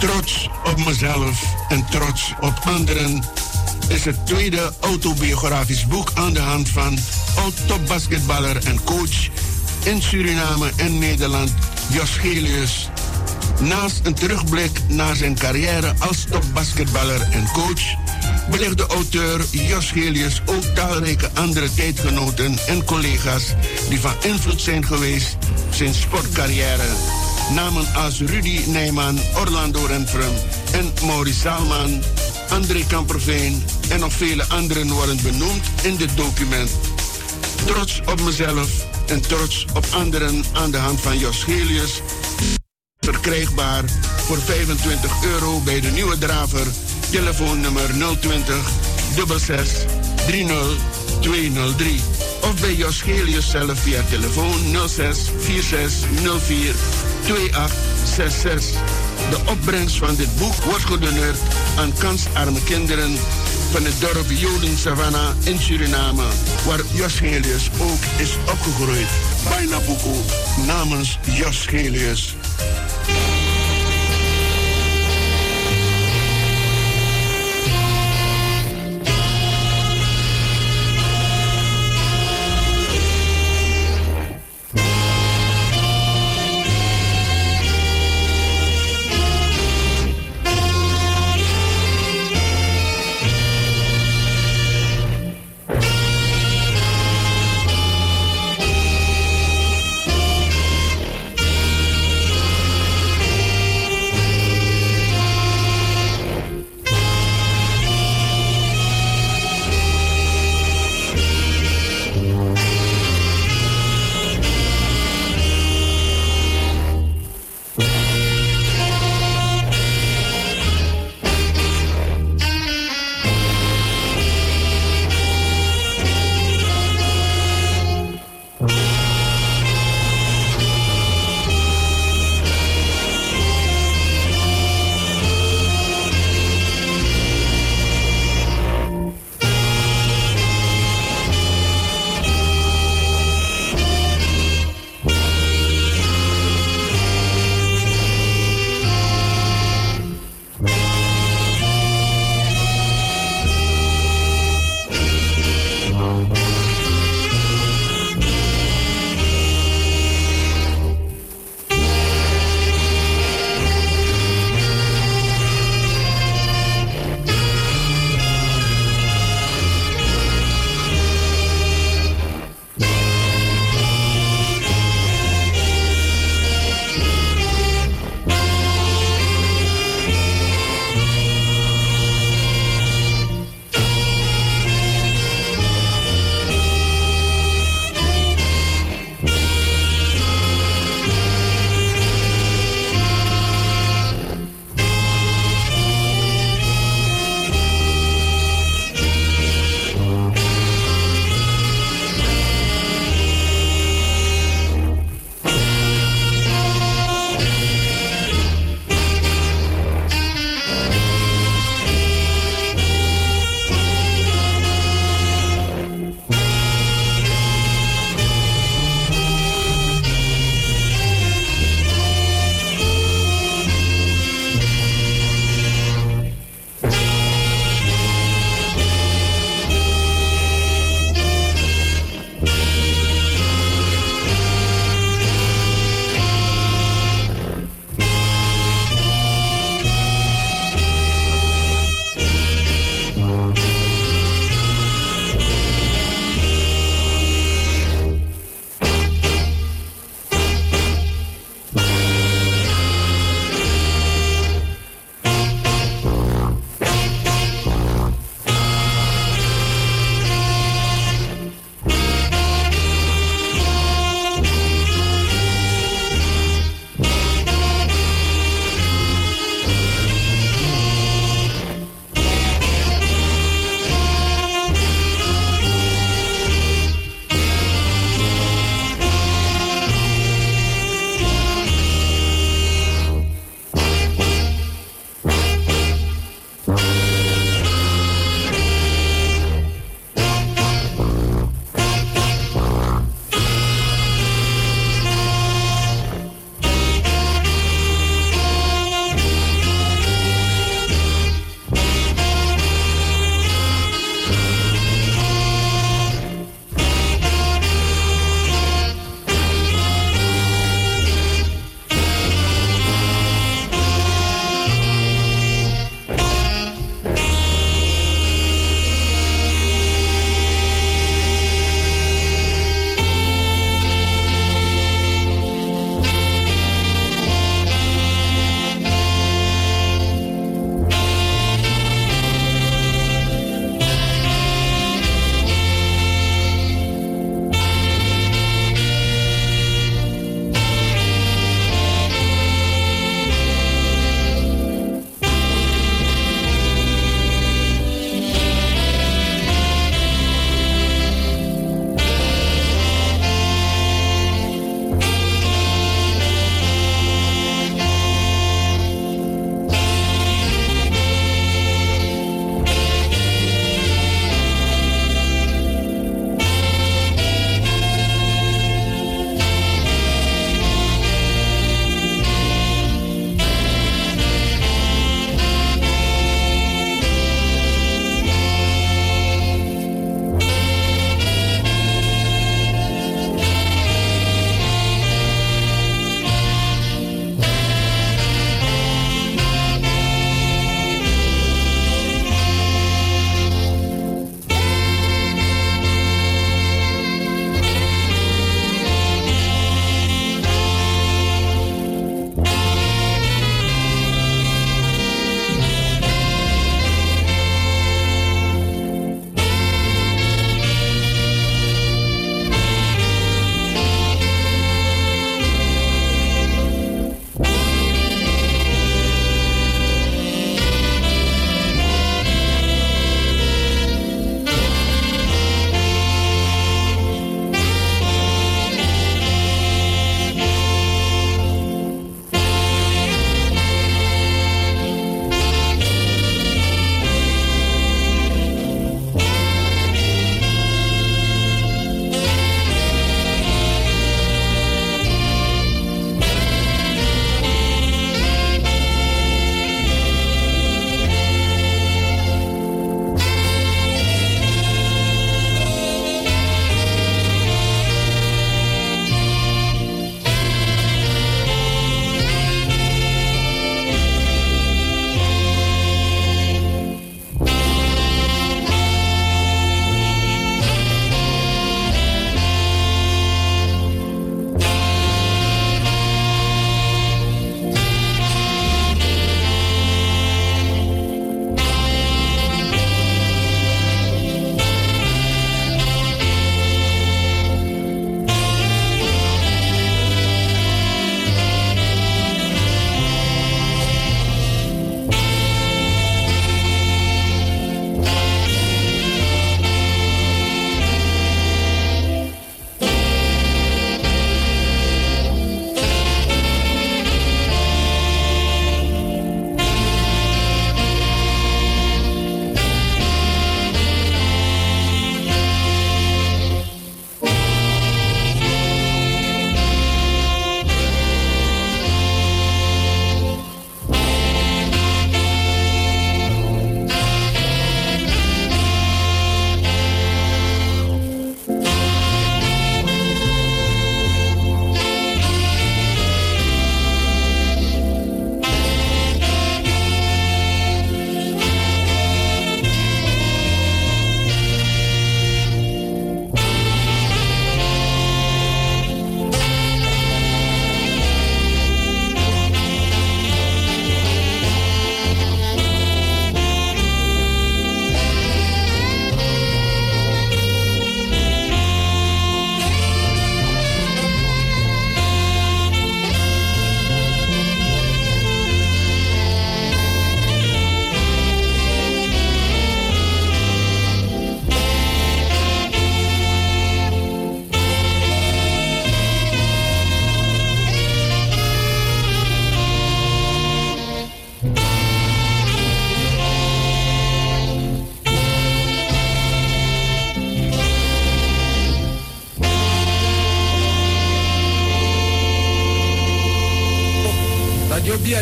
Trots op mezelf en trots op anderen is het tweede autobiografisch boek aan de hand van oud-topbasketballer en coach in Suriname en Nederland, Jos Gelius. Naast een terugblik naar zijn carrière als topbasketballer en coach, belegt de auteur Jos Gelius ook talrijke andere tijdgenoten en collega's die van invloed zijn geweest zijn sportcarrière. Namen als Rudy Nijman, Orlando Renfrum en Maurice Salman, André Kamperveen en nog vele anderen worden benoemd in dit document. Trots op mezelf en trots op anderen aan de hand van Jos Gelius. Verkrijgbaar voor €25 bij de Nieuwe Draver. Telefoonnummer 020 66 30 203. Of bij Jos Gelius zelf via telefoon 06 46 04 2866. De opbrengst van dit boek wordt gedoneerd aan kansarme kinderen van het dorp Joden Savannah in Suriname, waar Jos Gelius ook is opgegroeid. Bijna boeko namens Jos Gelius.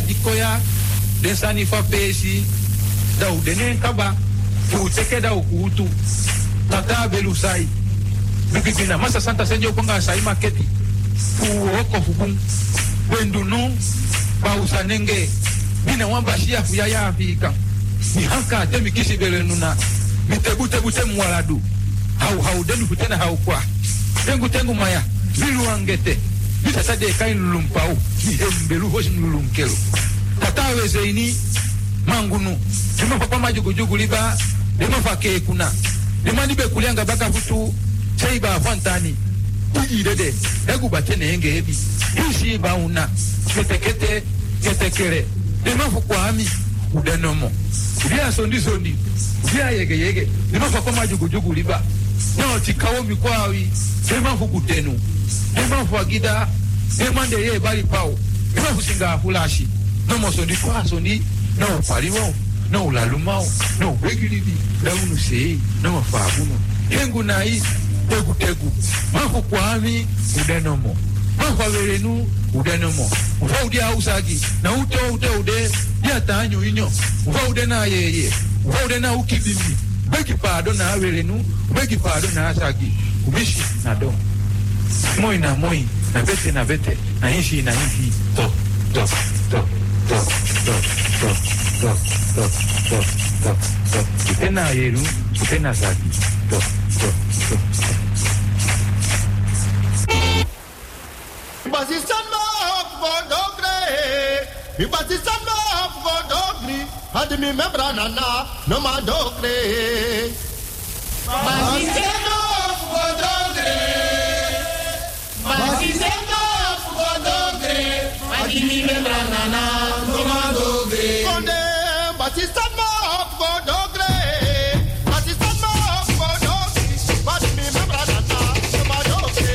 dikoya den sani fa pesi da u denen kaba fu teke da ukutu tata belusai bikina masa santa senjo konga sai maketi fu oko fukun wendunu ba usanenge bina wamba shia fu ya afika ni hanka temi kisi belenuna mitebute mwaladu hau denu kutena hau kwa tengu maya bilu angete bisa sade kain lulumpau ni embelu hoshi lulunkelo tatawe zeini mangunu dima papa majugu liba dima fake kuna dima nibe kulianga baka futu seiba fantani uji dede egu batene enge ebi hishi ba una ketekere dima fukwami udenomo dia sondi dia yege dima papa majugu liba no tikawo mikwawi dima fukutenu dima fuagida dima ndeye bali pao dima fusinga fulashi no mosondi kwa sondi no pariwo no lalumao no wegilibi daunu sei no fabuno hengu nai tegu mafu kwami udenomo mafu averenu udenomo ufa udia usagi na ude dia tanyo inyo ufa ude na yeye ufa ude na ukibimi beki pado na averenu beki pado na asagi ubishi na do moi na bete na hishi to Utena yeru, utena zaki. Ibasisan mo fodogre, ibasisan mo fodogre, admi membra nana no madogre. Ibasisan mo fodogre, ibasisan mo fodogre, admi membra nana no madogre. Konde ibasisan mo fodogre, ibasisan mo fodogre, admi membra nana no madogre.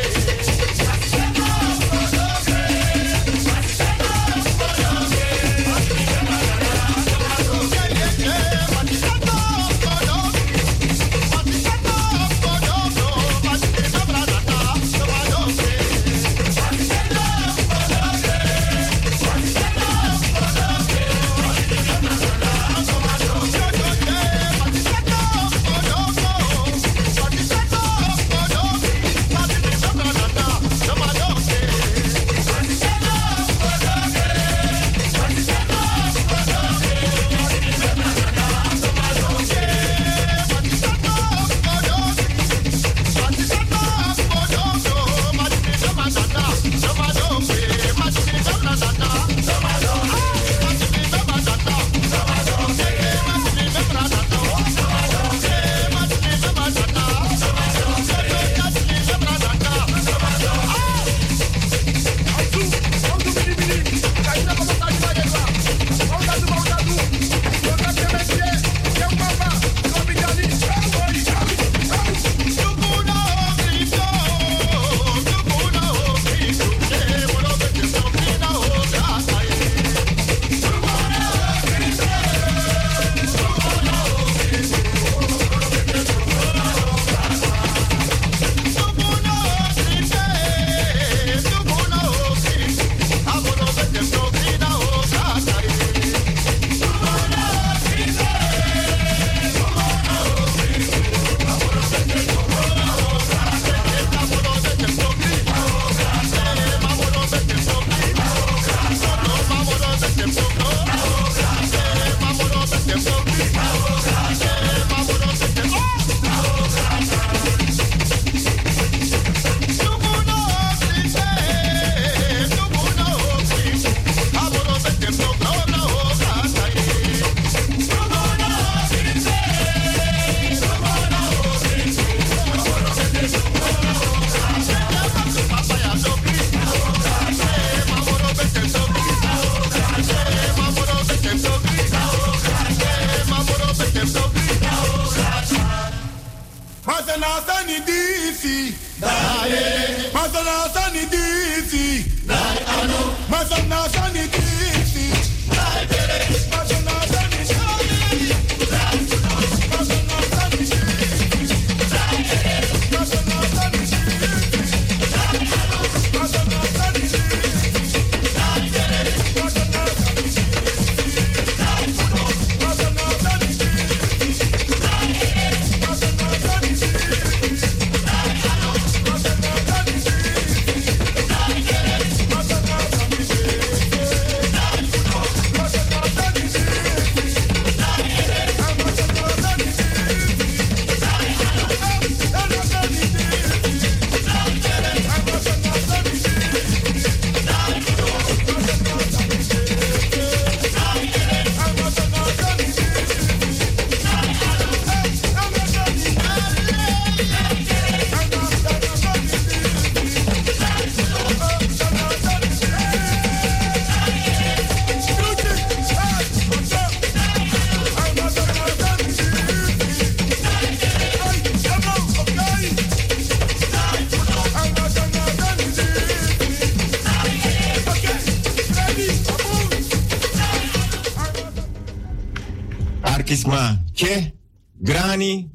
Markisma. Che. Grani.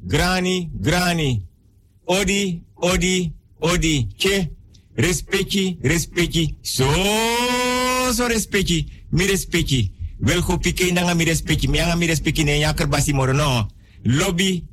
Odi. Che. Respecti. So respecti. Mi respecti. Wel go pike nanga mi respecti. Mi anga mi respecti ne yaker basi moro no. Lobby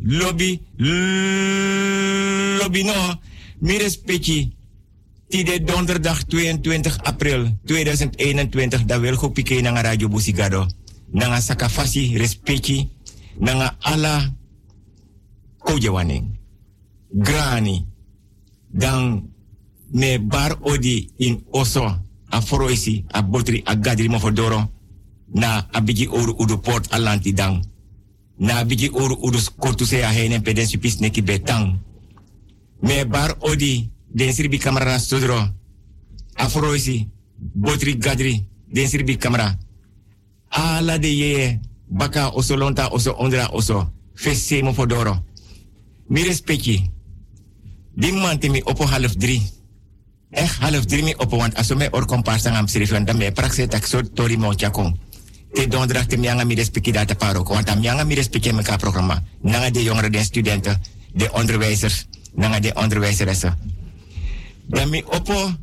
no. Mi respecti. Tide donderdag 22 april 2021 da wel go pike nanga Radio Busigado. Nanga sakafasi respecti. Nanga ala kojawaning. Grani. Dan me bar odi in oso. A foroisi, a botri, a gadri mofodoro. Na abigi oru udu port alanti dang. Na abigi oru udu skotu se a henen peden supis neki betang. Me bar odi, den sirbi kamera na sodro. A foroisi, botri gadri, den sirbi kamera. Ala de ye, baka oso lonta oso ondra oso. Fesse mofodoro. Mi respecti. Die man te mi oppo 2:30. Echt 2:30 mi oppo, want als we mij orkomparsan am schrijven, dan mij prakse tak so tori mo chakong. Te donderdag te mianga mi respecti data parok, want am mianga mi respecti meka programma. Nanga de jongeren, de studenten, de onderwijzers, nanga de onderwijzeressen. Dan mi oppo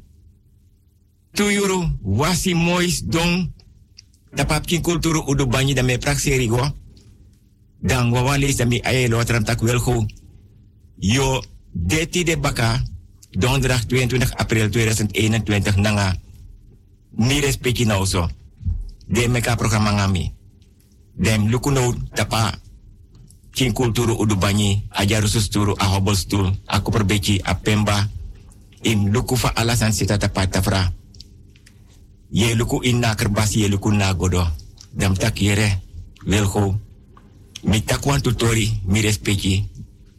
2 euro wasi mois don tapapkin kulturu udu banyi dan mij prakse rigo. Dan wawalees dan mi aye lotram tak welgo. Yo 13 de baka, donderdag 22 april 2021, nanga mi respecti nou zo. De meka programma ngami. Dem lukuno tapa kin kulturu udubani, ajaru susturu, a hobostul, a koperbeci, a pemba, in luku fa alasan sita tapa tafra. Ye luku in na kerbasi, ye luku na godo. Dam tak yere, welgo. Mi takwan tutori, mi respecti.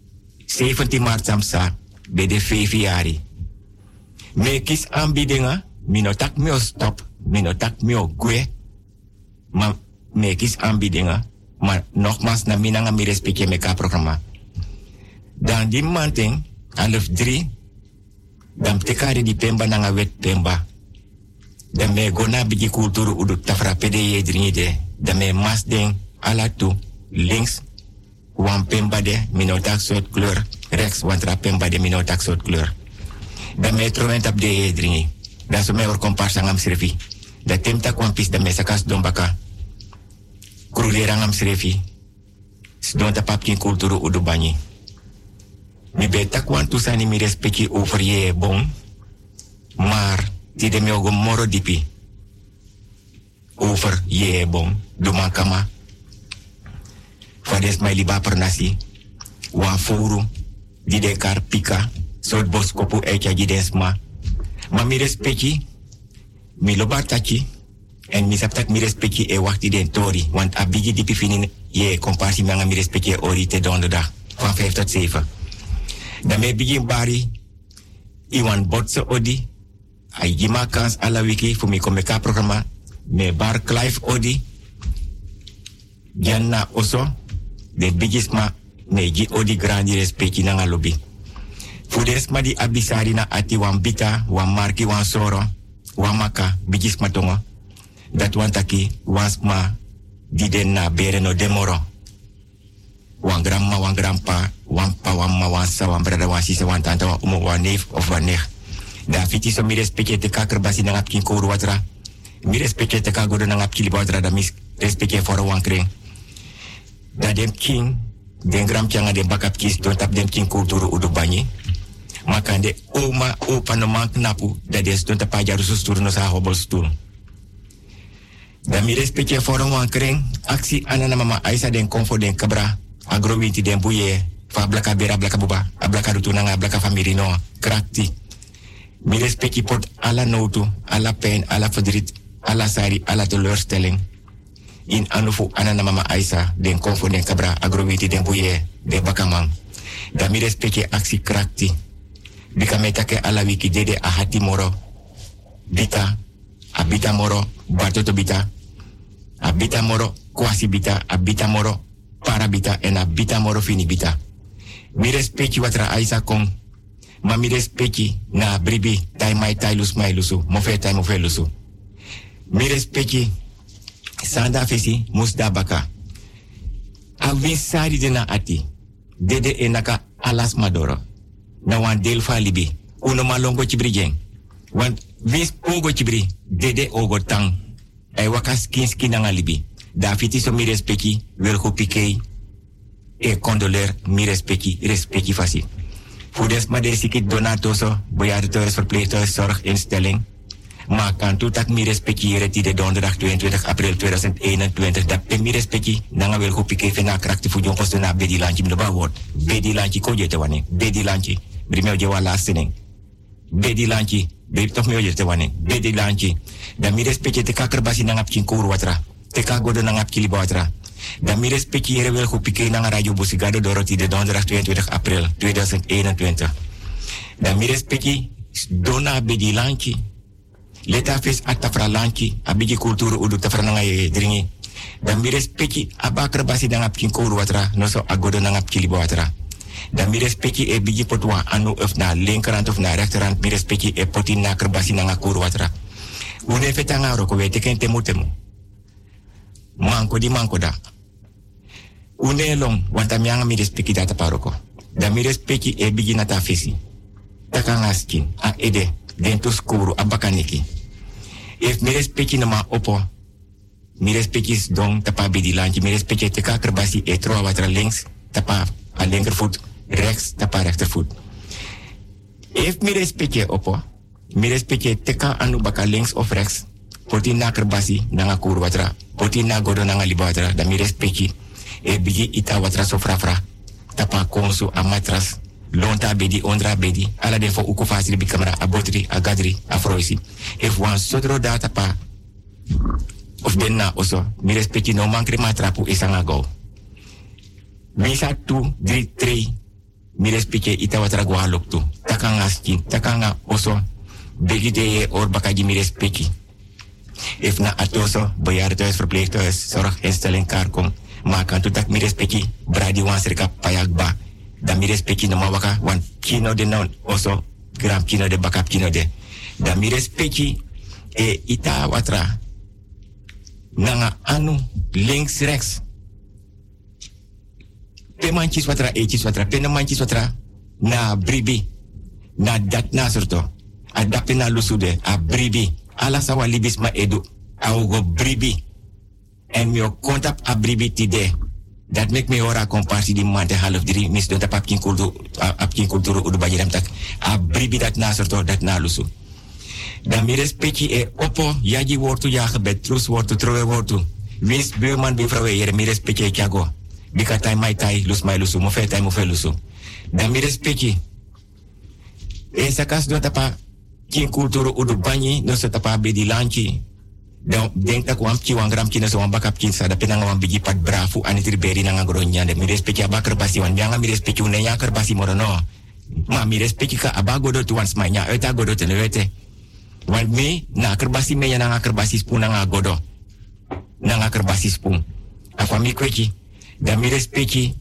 17 maart samsa, bij de 5 jari. Me kis aanbiedingen, minotak mio stop, minotak mio gue. Maar me kis aanbiedingen, maar nogmaals na minanga mi respecte meka programma. Dan die manting, 2:30, dan tekare di pemba nanga wet pemba. Dan me gona bigi kulturu udu tafra pede dringide. Dan me mas ding ala tu, links, wan pemba de minotak soort kleur. Rechts, want ra pemba de minotak soort kleur. Dan me troent op de dringi. Dan so me or komparsa ngam srefi. Da temta kwan pis da me sakas dombaka. Krulera ngam srefi. Sdon ta papkin kulturu udu banyi. Mi beta kwan tusani mi respecti over ye bon. Maar, ti de me ogo moro dipi. Over ye bon. Duma kama. Fades mai liba pernasi. Wa furu. Di de kar pika. Sot bos kopu echa jidensma. Ma mi respecti. Mi loba tachi. En mi saptak mi respecti e wakti den tori. Want abigi dipi finin ye komparsi manga mi respecti ori te donderdag. Van 5 tot 7. Dan me begin bari. Iwan botse odi. Ai gima kans ala wiki fu mi komeka programma. Me bar Clive odi. Janna oso. De bigisma. Neji odi grandi respecti nanga lobby. Fudesma di abisari na ati wan bita, wan marki, wan soro, wan maka, bigisma tongo. Dat wan taki, wan sma, di den na bere no demoro. Wan grandma, wan grandpa, wan pa, wan ma, wan sa, wan brada, wan sisa, wan tante, wan umo, wan neef of wan nech. Da fiti so mi respecte te kaker basi nangap kin kouru watra. Mi respecte te kagodo nangap kili watra da mis respecte foro wan kring. Da dem king, den gram changa de bakap kis don tap dem king kulturu udu banyi. Makande oma opa no man knapu da des don tap ajaru sustur no sa hobol stoel. Da mi respecte forum wan kring aksi anana mama Aisa den konfo den kabra agrowinti den buye fa blaka bera blaka buba ablaka rutunanga blaka famiri no krakti. Mi respecte pot ala notu, ala pijn, ala verdriet, ala sari, ala teleurstelling. In anufu anana mama Aisa den konfo den kabra agrowiti den buye den bakamang. Da mi respecte aksi krakti. Bika metake ala wiki dede ahati moro. Bita, abita moro, batoto bita. Abita moro, kwasi bita, abita moro, parabita en abita moro fini bita. Mi respecte watra Aisa kong. Ma mi respecte na bribi tai mai tai lus mai lusu, mofe tai mofe lusu. Mi respecte Sanda fesi musda baka. Avinsari de na ati. Dede enaka alas madoro. Na wan deel fa libi. Uno malongo chibrigeng. Want wins pogo chibri. Dede ogo tang. Ay wakas kinski na libi. Dafiti so mi respecti. Welko pikei. E condoler mi respecti fasi. Voor maar deze sikit donatoso, bejaardentehuis, verpleeghuis, zorginstelling. Maar kan toe dat mi respectiëren die de donderdag 22 april 2021 dat pe mi respecti nanga wel kopike fena krakti fu jonkos na bedi lanchi mdoba word. Bedi lanchi ko jete wane. Bedi lanchi. Brimeo jewa lastening. Bedi lanchi. Bri toch meo jete wane. Bedi lanchi. Da mi respecti te kakerbasi nanga pchinkuru watra. Te kagodo nanga pchiliba watra. Dan mi respectiëren wel goed pikee naar Radio Busigado Dorothy de donderdag 22 april 2021. Dan mi respecti dona bedi lanchi. Leta fes atafra lanchi, abiji kulturu udu tafra nanga ye dringi. Dan mi respecti abakra basi nanga pkinkouru watra, no so agodo nanga pkilibo watra. Dan mi respecti e biji potwa anu of na linkerhand of na rechterhand, mi respecti e poti na kerbasi nanga kouru watra. Une fetanga roko wete ken temutemu. Manko di manko da. Une long, wanta mianga mi respecti data paroko. Da mi respecti e bigi nata fesi. Takanga skin, a ede, dentus kuru, abakaniki. If mi respecti nama opo, mi respecti dong tapa bidi lanchi, mi respecti teka kerbasi e troa watra links, tapa a linkervoet, rechts, tapa rechtervoet. If mi respecti opo, mi respecti teka anu baka links of rechts, poti na kerbasi, nanga kuru watra, poti na godo nanga liba watra, da mi respecti e bigi ita watra so frafra, tapa konsu a matras, lonta bedi, ondra bedi, ala den fo uko fasili bi kamera, a botri, a gadri, a froisi. If wan sodro da tapa, of den na oso, mi respecti no mankri matrapu isanga go. Misa 2, 3, 3, mi respecti ita watra gwa loktu, takanga skin, takanga oso, begi de or bakaji mi respecti. If na atoso, bejaardentehuis, verpleeghuis, zorginstelling, karkom, maar kan toe dat mi respecti, bradi wan serka payagba, dan mi respecti no mawaka, wan kino de non, oso, gram kino de bakap kino de. Dan mi respecti, e ita watra, nanga anu, links, rechts. Pe manchis watra, eachis watra, pe no manchis watra, na bribi, na dat na surto, a dape na lusude, a bribi, ala sawa libis ma edu, a ugo bribi. En mi kontap a bribi tide. Dat make me ora komparsi di mante half diri mis don tap apkin kulturu udu bajiram tak. A bribi dat na sorto dat na lusu. Dan mi respecti e opo yaji wortu ya gebed trus wortu trowe wortu. Wins buurman bivrouwe yere mi respecti e kiago. Bika tai mai tai lus mai lusu mo fe tai mo fe lusu. Dan mi respecti e sakas don tapa kin kulturu udu banyi no so tapa bedi lanchi. Dan denk dat kwam ki wan gram kina so wan bakap kin sa da penanga wan bigi pat brafu anitri beri nanga gronya de mi respecti abakar basi wan nyanga mi respecti une yakar basi morono. Ma mi respecti ka abagodo tu wan smanya eta godo tenewete. Wan mi na kerbasi me nanga kerbasi spun nanga godo. Nanga kerbasi spun. Afa mi kweki. Da mi respecti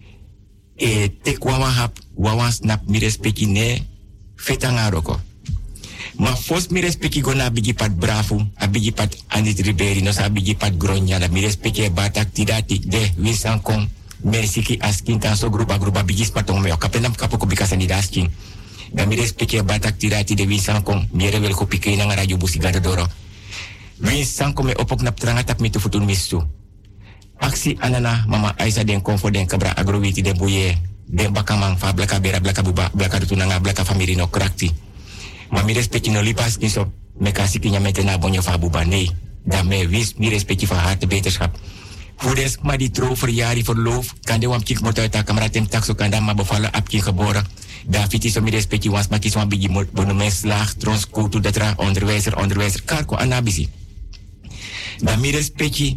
e tekwa hap wawan snap mi respecti ne fetanga roko. Ma fos mi respecti gona bigi pat brafu, a bigi pat anit riberi, no sa bigi pat gronya, da mi respecti batak tidati de winsan kong, mersiki askin tan so grupa bigis patong meo, kapenam kapoko bikasan di daskin. Da mi respecti batak tidati de winsan kong, miere wel ko pikei nang Radio Busigado Doro. Winsan kong me opok nap trangatap mi tu futun misu. Aksi anana mama Aisa den konfo den kabra agrowiti den boye, den bakamang fa blaka bera blaka buba, blaka dutunanga blaka famiri no krakti. Maar mi respecti no lipas niso me kasi kinya metena bonyo fa buba nee. Dan me wis mi respecti van harte beterschap. Voedes maar die trouw verjari verloof kan de wam kik mot uit ta kamera tem takso kan dan maar bevallen apki geboren. Da fiti so mi respecti wans ma kis wan bigi bonomen slag trons kutu datra onderwijzer karko anabisi. Dan mi respecti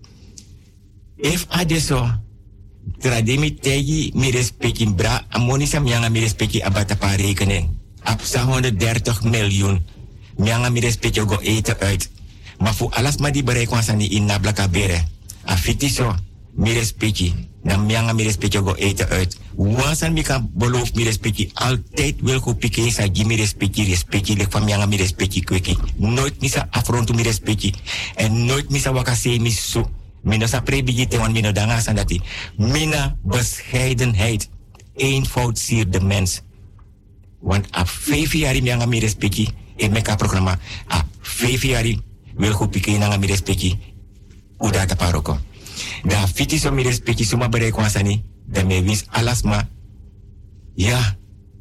if adesso trademi tegi mi respecti bra amonisa mianga mi respecti abata pa rekening. Apsa 130 miljoen. Mianga mi respecti go eten uit. Maar voor alles maar die bereik was aan die in na blaka bere. Afiti so, mi respecti. Dan mianga mi respecti go eten uit. Wansan mi kan beloof mi respecti. Altijd wil go pike sa gi mi respecti. Lek van mianga mi respecti kweki. Nooit misa afrontu mi respecti. En nooit misa wakase mi so. Mina sa prebigite wan mina danga sandati. Mina bescheidenheid. Eenvoud siert de mens. Want a 5 jaar mi anga mi respecti e meka programma. A 5 jaar wil go pike nanga mi respecti. Uda ta paroko. Da fiti so mi respecti suma bere kwansani. Da me wins alasma. Ja.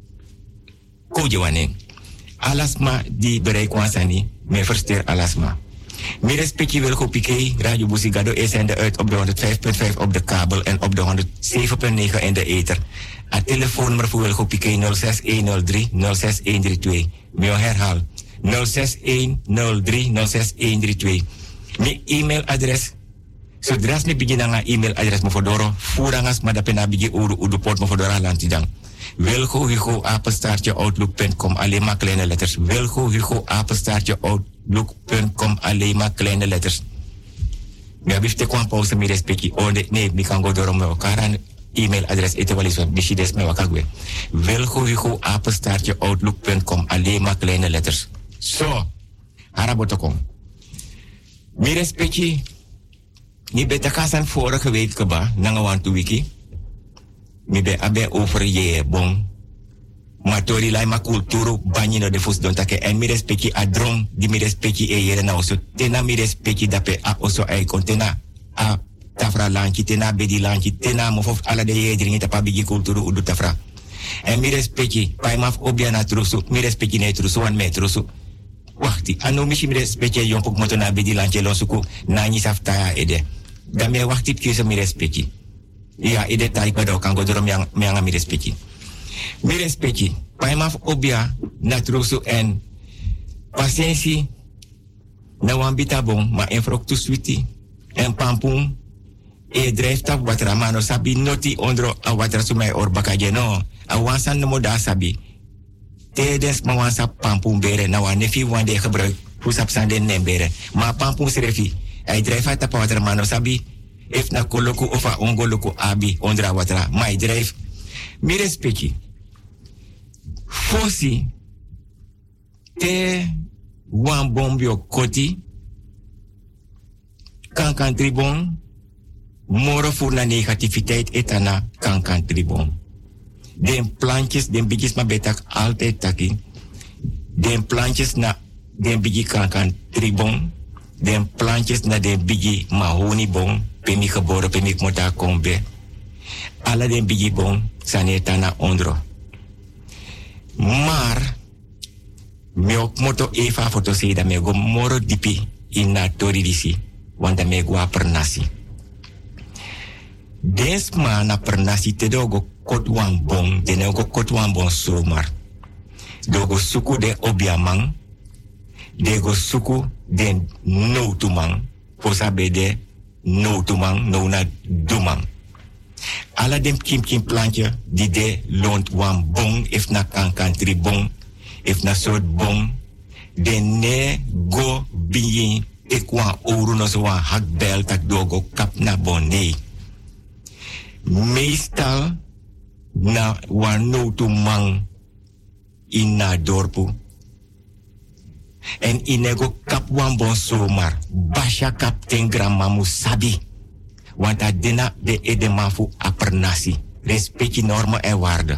Koje wane. Alasma di bere kwansani. Me versteer alasma. Mi respecti wil go pike. Radio Busigado is zender uit op de 105.5 op de kabel en op de 107.9 in de ether. A telefoonnummer voor Wilgo Piqué 06103 06132. Mio herhaal 06103 06132. Mi e-mailadres. Zodra mi begin aan e-mailadres me fodoro, voerangas maar dat pena begin udu port me fodora lantidang. Wilgo Hugo apenstaartje outlook.com alleen maar kleine letters. Wilgo Hugo apenstaartje outlook.com alleen maar kleine letters. Mi abifte kwam pauze mi respecti. Oh nee, mi kan go door me elkaar e-mailadres etewalis van Bishides me wakagwe. Wilgo Hugo apenstaartje outlook.com alleen maar kleine letters. Zo, harabotokom. Mi respecti. Mi beta kasan vorige week keba, nanga wantu wiki. Mi be abe over je bon. Matori lai ma kulturu banyi no de fus don take. En mi respecti adrong di mi respecti e yere na oso. Tena mi respecti dape a oso e kontena a tafra lanchi, tena bedi lanchi, tena mofof ala de ye dringi tapa bigi kulturu udu tafra. En mi respecti, pai maf obia na trusu, mi respecti ne trusu wan me trusu. Wachti, anu mishi mi respecti yompok moto na bedi lanchi lonsuku, na nyi safta ede. Dan me wachti pkeuze mi respecti. Ja, ede taik bado kan godoro mi anga mi respecti. Mi respecti, pai maf obia na trusu en pasiensi na wambita bon, ma enfrok tu switi en pampung. E drijft op wat ramano sabi noti ondro a wat rasumai or bakaje no. A wansan no moda sabi. Tedes ma wansa pampung bere na wan nefi wan de gebruik. Pusap sande nembere. Ma pampung serefi. Hij drijft op wat ramano sabi. If na koloku of a ongoloku abi ondra watra. Ma hij drijft. Mi respecti. Fosi. Te wan bombio koti. Kankan tribon. Moro voor na negativiteit etana kankan tribon. Den plantjes, den bigis ma betak altijd taki. Den plantjes na den bigi kankan tribon. Den plantjes na den bigi mahoni bon. Pemi geboren, pemi mota kombe. Alla den bigi bon, sanetana ondro. Maar, me ook moto eva foto se da me go moro dipi in na toridisi. Want da me go a pernasi. Desma na pernasi te dogo kotwan bon, de nego kotwan bon somar. Dogo suku de obiamang, dego suku de no tumang, posa bede no tumang, no na dumang. Alla dem kim plantje, die de loont wan bon, if na kankan tri bon, if na soort bon, de ne go biyin, ekwa oru no so wan hakbel tak dogo kap na bon, nee. Meestal na wanotu mang ina dorpu. En inego kap wan bon somar. Basha kap ten grandma musabi. Want adena de edemafu apernasi. Respecti normen en waarden.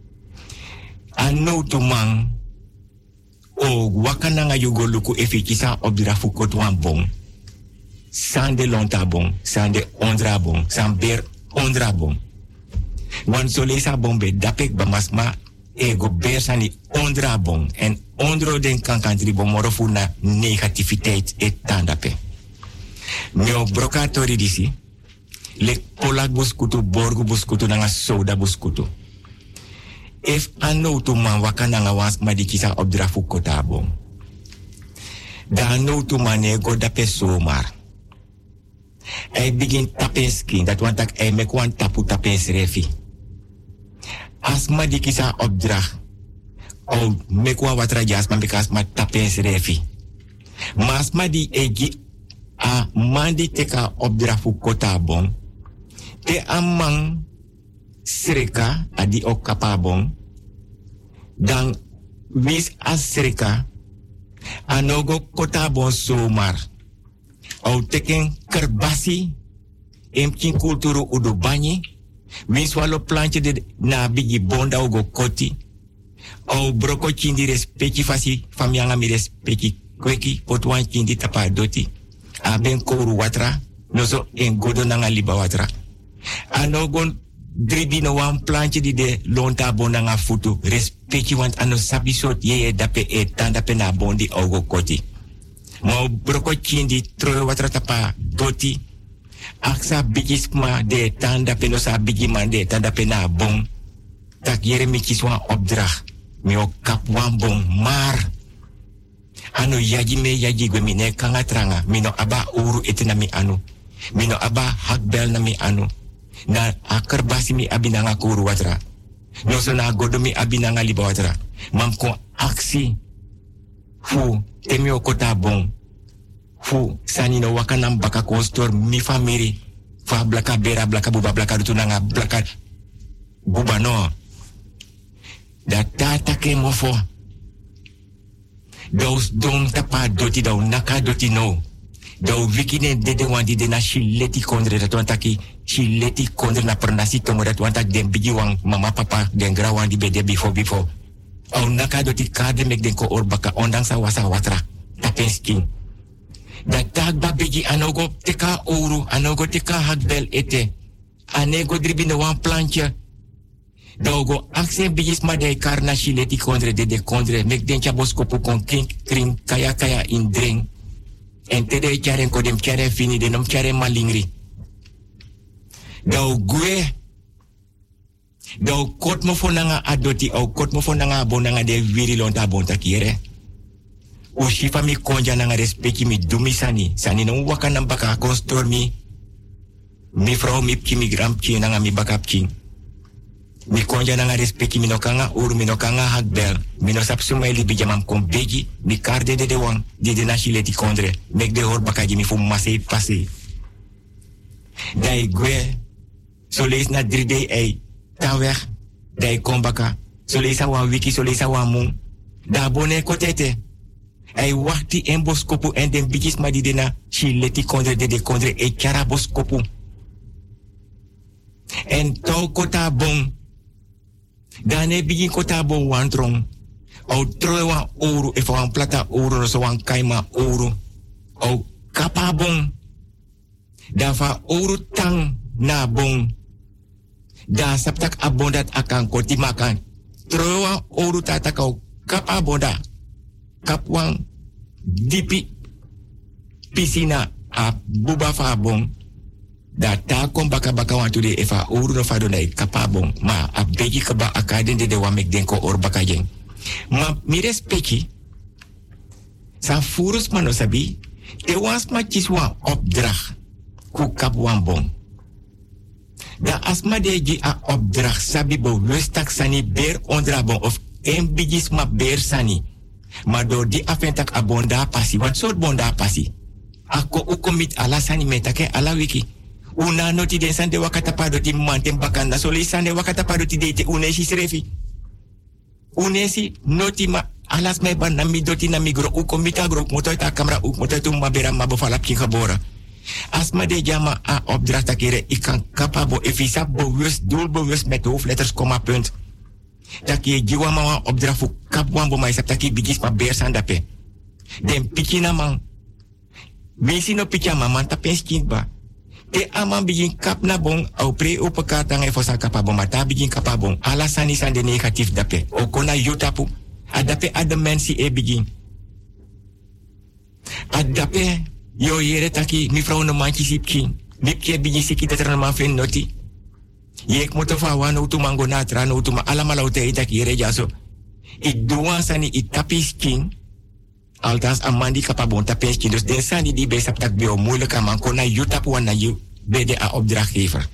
Anotu mang. O wakananga yugo luku efikisa obdirafu kot wan bon. Sande lonta bon. Sande ondra bon. Samber ondrabom. Want zo lees bombe dapik bamasma ego bersani ondrabom. En ondro den kankantribom morofu na negativiteit etandape. Mio brokatori disi. Lek polak buskutu borgu buskutu nanga soda buskutu. If anotu man wakananga wans madikisa obdrafu kotabom. Da anotu man ego dape somar. Hij begint tapenskin, dat want hij mek wan tapu tapens refi. As ma di kisa opdracht, o mek wan watra jas ma bekas ma tapens refi. Mas ma di egi a mandi teka opdracht fu kota bon. Te amang sreka adi ok kapabon. Dan wis as sreka anogo kota bon somar. Au teken kerbasi Emkin kulturu udu banyi. Wins walo plantje de na bigi bonda ugo koti. Au broko chindi respecti fasi famyanga mi respecti kweki potwan chindi tapa doti. Aben koru watra. Nozo en godo nanga liba watra. Anogon dribi no wan plantje di de lonta bonda nga futu. Respecti want ano sabi sot ye dape etan dape na bondi ugo koti. Mau broko chindi troe watra tapa doti. Aksa bigisma de tanda peno sa bigiman de tanda pena bon. Tak yere mi kiswan opdracht. Mi o kap wan bon. Maar. Ano yaji me yaji gwe mine kanga tranga. Mino aba uru ete na mi anu. Mino aba hakbel na mi anu. Na akarbasi mi abinanga kuru watra. No so na godo mi abinanga liba watra. Mam kon aksi. Fu temi o kota bon. Fu sani no wakanam baka kostor mi famiri. Fa blaka bera blaka buba blaka rutunanga blaka buba no. Da tata ke mofo. Dos don tapa doti da naka doti no. Da wikine dede wandi de na shileti kondre dat wantaki shileti kondre na pernasi tomo dat wantak den bigi wang mama papa den gra wandi bede before. Au naka doti kade mek den ko or baka ondang sa wasa watra. Tapenskin. Dat tak babiji anogo teka ouro, anogo teka hakbel ete. Anego dribine wan plantje. Dogo aksen bijis ma de karna shileti kondre de kondre. Mek den chaboskopu kon kring kaya in drink. En tede charen kodem charen fini de nom charen malingri. Dau gue. Dau kot mo fonanga adoti au kot mo fonanga bonanga de viri lonta bonta kiere. O shifa mi konja nanga respecti mi dumi sani. Sani no waka nam baka konstor mi. Mi vrouw mi pki mi grampki nanga mi bakapki. Mi konja nanga respecti mi no kanga uru mi no kanga hakbel. Mi no sap sumaili bijamam kon beji. Mi karde de wang. Di de nashileti kondre. Mek de hor bakaji mi fu masei pase. Dai gwe. So lees na 3 day ei. Ta weg. Dai kom baka. So lees a wan wiki, so lees a wan mung. Da bone kotete. Hij wacht die en boskopu en den bijis ma die dena shileti kondre de kondre e kara boskopu. En tau kota bon. Dan e bijin kota bon wantrong. Au troe wan ouro e wan plata ouro no so wan kaima ouro. Au kapa bon. Dan va ouro tang na bon. Dan saptak abondat akan koti makan. Troe wan ouro tatakau kapa bonda. Kapwang dipi pisina a buba fa bon da ta kom baka wan tude efa uru no fa donai kapabong ma a beji kaba akaden de wa mek den ko or baka jeng ma mi respecti sa furus mano sabi te wans ma kiswa opdracht ku kapwan bon da asma de ji a opdracht sabi bo lustak sani ber ondra bon of en bijis ma ber sani. Maar door die afentak a bonda passi. Wat soort bonda passi? Ako ukomit ala sani metake ala wiki. Una noti den sande wakata padoti mantem bakanda. Soli sande wakata padoti dete unesi srefi. Unesi noti ma alas me ban nami doti nami gro ukomita gro moto ita kamera moto tu mabera mabofala pkikabora. Asma de jama a opdracht kere ikan kapabo efisa bewust doelbewust met hoofdletters komma punt. Taki jiwa mawa opdrafu kap wan bomai sap taki bigis ma beer sandape. Den pikina man. Wisi no pikja man tapenskin ba. Te aman begin kap na bon au pre upekatang e fosa kapabon mata begin kapabon. Alasani sande negatief dape. Okona yotapu. Adape ada mensi e begin. Adape yo yere taki mi vrouw no manchi sipkin. Mipke begin siki dat man fen noti. Yek motofa wan utu mango natra no utu ma alamala ute itak yere jaso. Ik doan sani ik tapis king. Althans amandi kapabon tapis king. Dus den sani die bij saptak bio moeilijk man kona jutap wan na you bede a opdrachtgever.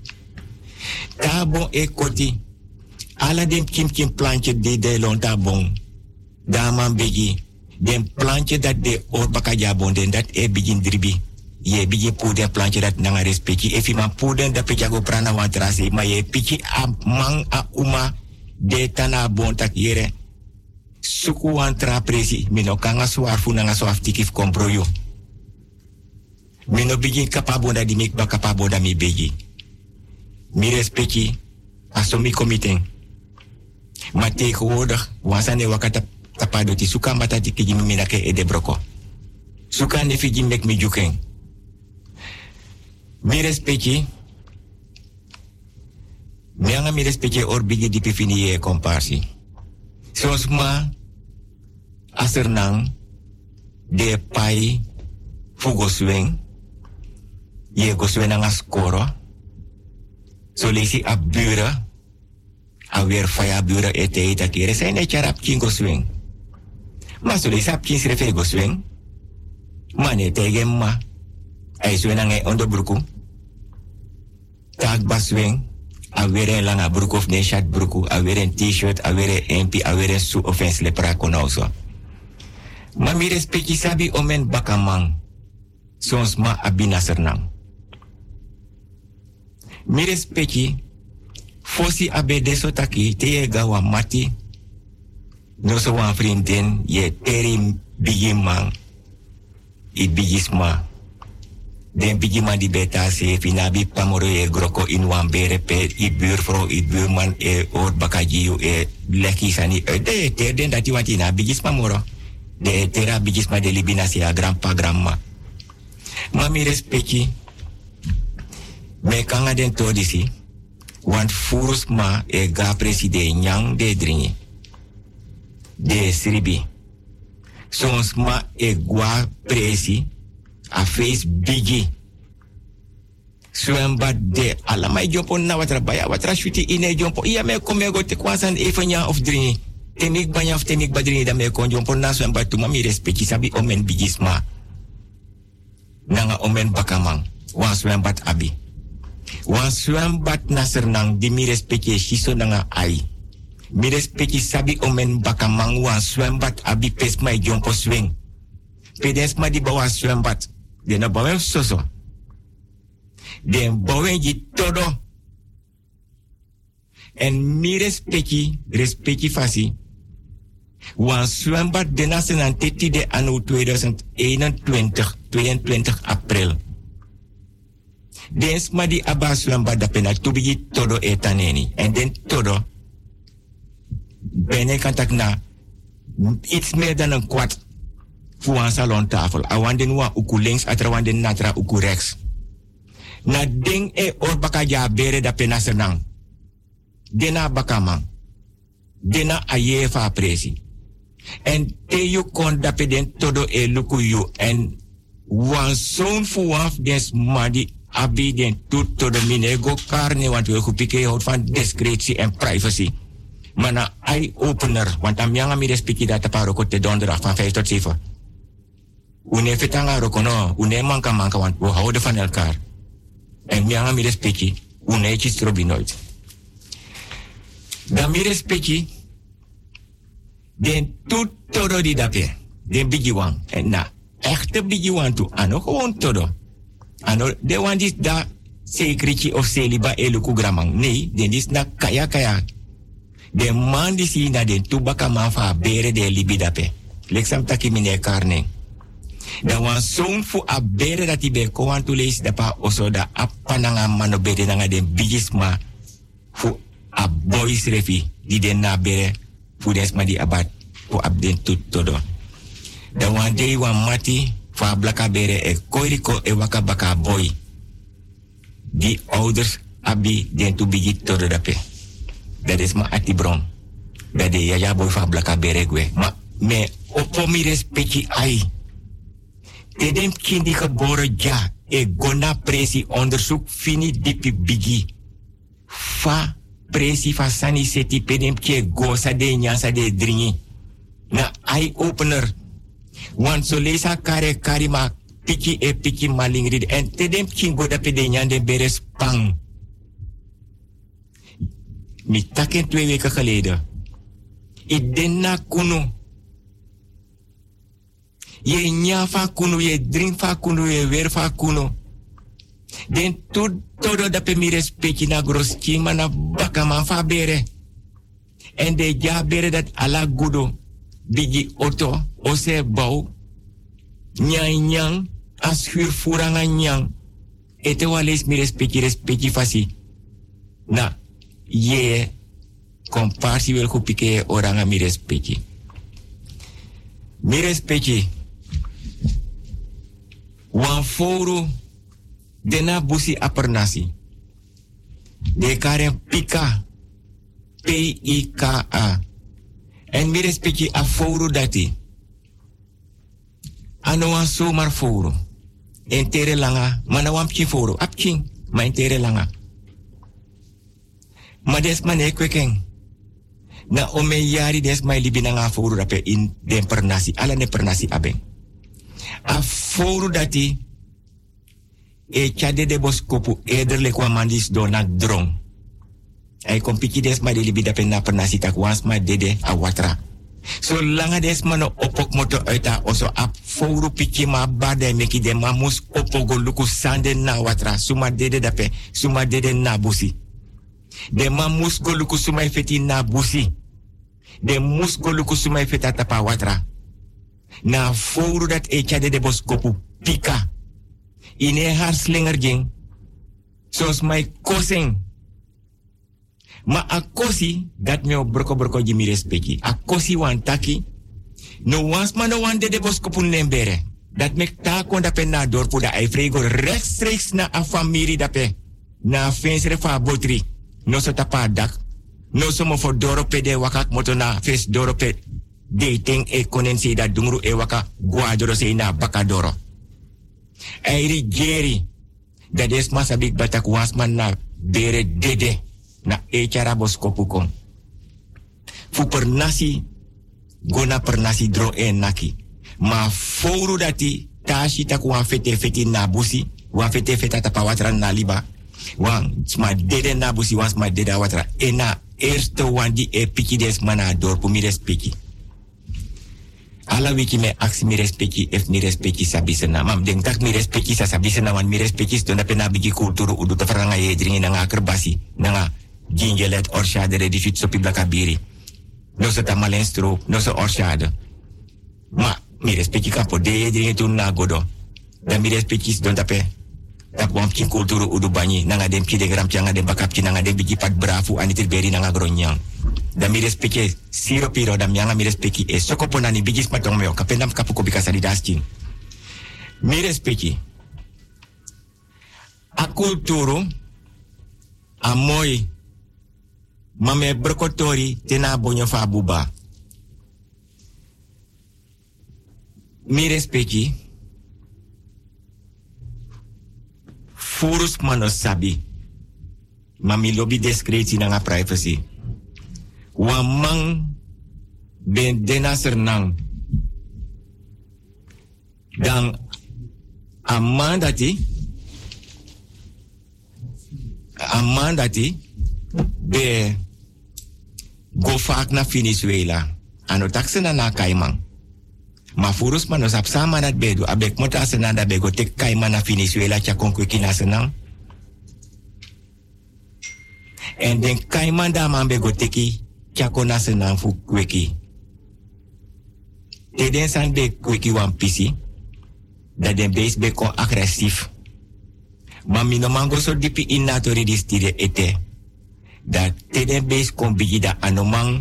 Tabon e koti. Ala den kim plantje de lonta bon. Daman begi. Den plantje dat de orbaka jabon den dat e begin dribi. Ye bigi puden plantje dat nanga respecti. Efi man puden da pejago prana wantrasi. Ma ye piki a mang a uma de tana bontak yere. Suku wantra presi. Mino kanga suarfu nanga soaftikif kompro yo. Mi no bigi kapabonda di mek ba kapabonda mi begi. Mi respecti aso mi committing. Maar tegenwoordig, wansane wakata tapado ti suka matati kiji mi minake e de broko. Suka ne fiji mek mi juken. Mi respecti. Mianga mi respecti or bigi di pifini e komparsi. Sos ma asernang de pai fugo swing. Ye go swing nga skoro. So lesi a buren. Alweer via buren ete kere zijn net charap kingo swing. Maar zo lesi ap kins refe go swing. Mane tegen ma. Hij swing nga onderbroeken. Tag ba swing. Alweer een lange broek of nee shirt broek. Alweer een t-shirt. Alweer een MP. Alweer een su offense lepra konoso. Maar mi respecti sabi omen bakamang. Sons ma abina sernang. Mi respecti fosi abe deso taki te ye gawa mati. No so wan vriendin ye teri bigi man. I bigisma. Den bigi man di beta se finabi pamoro ye groko in wan bere pe i buurvrouw i buurman e oor bakajiu e leki sani. De ter den dati watina bigisma moro. De tera bigisma de libinasi a grandpa grandma. Mami respecti. Me kanga den todisi. Want furus ma e ga preside nyang de dringi. De sribi. Sons ma e gwa presi. A face bigi. Swemba de alamai jompo na watra baya watra shuti ine jompo. Iya me komego te kwasan even nya of dringi. Temik banya of temik badringi da me kon jompo na swemba tu mami respecti sabi omen bigisma. Nanga omen bakamang. Wan swembat abi. Wan swembat na sernang di mi respecti shiso nanga ai. Mi respecti sabi omen bakamang wan swembat abi pesmai jompo swing. Pedesma di bawah swembat. De na bawen soso. Den bawen ji todo. En mi respecti fasi. Wan zwembad de nasenan teti de anno 2021, 22 april. Den sma di aba zwembad da pena tubigi todo etaneni. En den todo. Bene kantak na iets meer dan een kwart voor een salontafel. Awanden wa uku links, atrawanden natra uku rechts. Na ding e orbaka ja bere da pena senang. Dena bakamang. Dena ayefa presi. En te you kon dape den todo e luku you. En wan zoon fu waf des madi abi den tut todo minego karne. Want we kupike hout van discretie en privacy. Mana eye-opener. Want am yang ami respecti data paroko te donderdag van 5 tot 7. Une fetanga rokono. Une manka want we houden van elkaar. En mianga mi respecti. Une chistrobi nooit. Dan mi respecti. Den tut todo di dape. Den bigi wan. En na echte bigi wan tu. Ano gewoon todo. Ano de wan dis da sekrichi of seliba eluku gramang. Nee, den dis na kaya. De man di si na den tubaka man fa bere de libi dape. Leksam taki mine karne. Dan wan zoon fu a bere dat i be kowan tu leis dapa oso da apananga mano bere nanga den bigisma fu a boys refi di den na bere fu desma di abat fu abden tut todo. Dan wan dei wan mati fa blaka bere e koiriko e waka baka boy. Die ouders abi den tu bigi todo dape. Dat is ma ati bron. Dat de yaya boy fa blaka bere gwe. Ma me opo mi respecti ai. Tedem kindi geboren ja. E gona presi onderzoek fini dipi bigi. Fa presi fa sani seti pedem ke go sa de nyasa de dringi. Na eye opener. Want so lesa kare karima piki e piki malingrid. En tedem kingo da pede nyande beres pang. Mi taken 2 weken geleden. I denna kuno. Je nya fa kuno, je drink fa kuno, je weer fa kuno. Den todo da pe mi respecti na groski mana baka man fa bere. En de ja bere dat ala gudo. Bigi auto, ose bau. Nyang, as huur furanga nyang. Ete wales mi respecti fasi. Na, ye, komparsi wel kupike oranga mi respecti. Mi respecti. Wan foru dena busi apernasi. De karen pika. P-I-K-A. En mi respecti a foru dati. Ano wan somar foru. Entere langa. Mana wan pchi foru. Apching. Ma entere langa. Ma des mane kwekeng. Na ome yari des mai libi nga foru dape in den pernasi. Ala ne pernasi abeng. A foru dati. E chade de boskopu. Ederle kwa mandis donak drong. Ay kompiki des ma de libi dape na pernasi tak wans ma dede a watra. So langa des mano opok moto uita oso ap fouru piki ma bade meki de mamus opogo luku sande na watra. Suma dede dape, suma dede na busi. De mamus go luku suma feti na busi. De mus go luku suma feta tapa watra. Na fouru dat e chade de boskopu pika. Ine haar slinger jing. Sos mai kosing. Ma a kosi, dat me op broko jimi respecti. A kosi wan taki. No wans ma no wan de boskopun lembere. Dat me ta kon dape na dorpu da ai frego rechtstreeks na a famiri dape. Na fensre fa botri. No so tapa dak. No so mo for dorope de wakak moto na fes dorope. Dating e konensi da dungru e waka guadoro se na bakadoro. Airi geri. Dat is masabik batak wans man na bere dede. Na echara boskopukong. Fu pernasi, gona pernasi dro naki. Ma fouru dati, tashi taku wan fete na busi, wan fete tapa watra na liba. Wan sma dede na busi, wan sma dede watra. Na eerste wan di e piki des mana dorpu mi respecti. Ala wiki me aksi mi respecti, ef mi respecti sabisena. Mam den tak mi respecti sa sabisena, wan mi respecti dona pena bigi kulturu udu tafaranga ye dringi nanga kerbasi, nanga gingelet orshade de difit sopi blakabiri. No se tamalen stroop, no se orshade. Ma, mi respecti kapo de ye dringi tun na godo. Dan mi respecti don tape. Tak wam kin kulturu udu banyi, nanga dem ki de gram changa dem bakapki nanga dem bigi pat brafu anitil beri nanga gronyang. Dan mi respecti siro piro dam yanga mi respecti e sokoponani bigis matong meo kapendam kapuko bikasa di daskin. Mi respecti. A kulturu a moy mame brokotori tena bonyo fa buba. Mi respecti. Furus mano sabi. Mami lobby discretie nanga privacy. Wamang ben dena sernang. Dan amandati be go vaak na Venezuela. Ano taksena na kaimang. Ma furus manos ap sama dat bedu. Abek mota asena da bego tek kaimang na Venezuela cha konkweki na senang. En den kaimang da man bego teki cha kona senang fu kweki. Te den san be kweki wan pisi. Da den base be kon agressief. Ma mino mango so dipi inatori distire ete. Dat te den base kon bigi da anomang.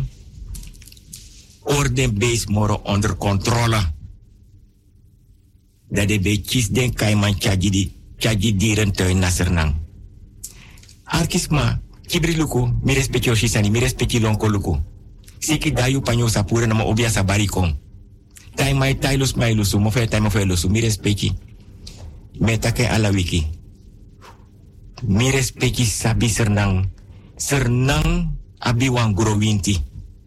Orden base moro onder controle. Dat de be kies den kaiman chaji dieren tuin na sernang. Arkisma, kibri luku, mi respecti oshisani, mi respecti lonko luku. Siki dayu panyo sapura nama obia sabarikong. Tai mai tailus mai lusu, mo fe tai mo fe lusu, mi respecti. Metake ala wiki. Mi respecti sabi sernang. Sernang abi wang guro winti.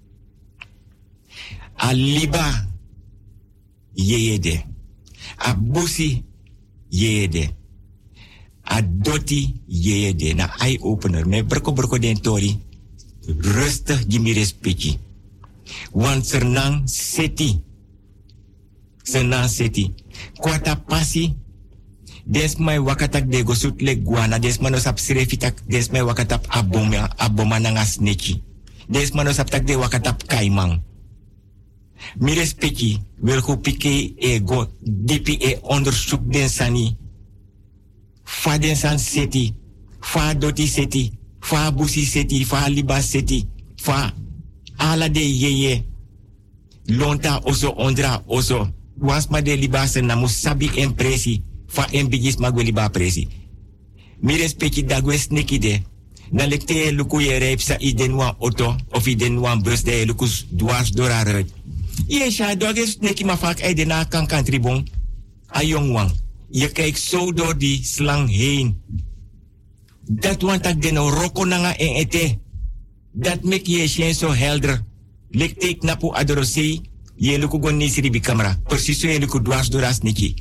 Aliba yeyede. Abusi yeyede. Adoti yeyede. Na eye opener. Me berko den tori. Rustig jimi respecti. Want sernang seti. Sernang seti. Kwata pasi. Des mai wakatak de gosut le guana. Des manosap sirefitak. Des mai wakatap aboma nangas neki. Des manosap tak de wakatap kaimang. Mi respecti wil go pike e go dipi e onderzoek den sani. Fa den san seti, fa doti seti, fa busi seti, fa liba seti, fa ala de yeye. Lonta oso ondra oso. Was ma de liba se na musabi impresi, fa embigis magwe liba presi. Mi respecti dagwes nekide. Na lekte luku ye reep sa iden wan auto of iden wan bus de lukus dwars door haar uit. Je sha doges neki ma vaak uit de na kan tribon. A jong wang. Je kijkt zo door die slang heen. Dat want dat de no roko nanga en ete. Dat mek je shen zo helder. Lekte ik napu adorose. Je luku gon nisiri bi camera. Precies zo je luku dwars door as neki.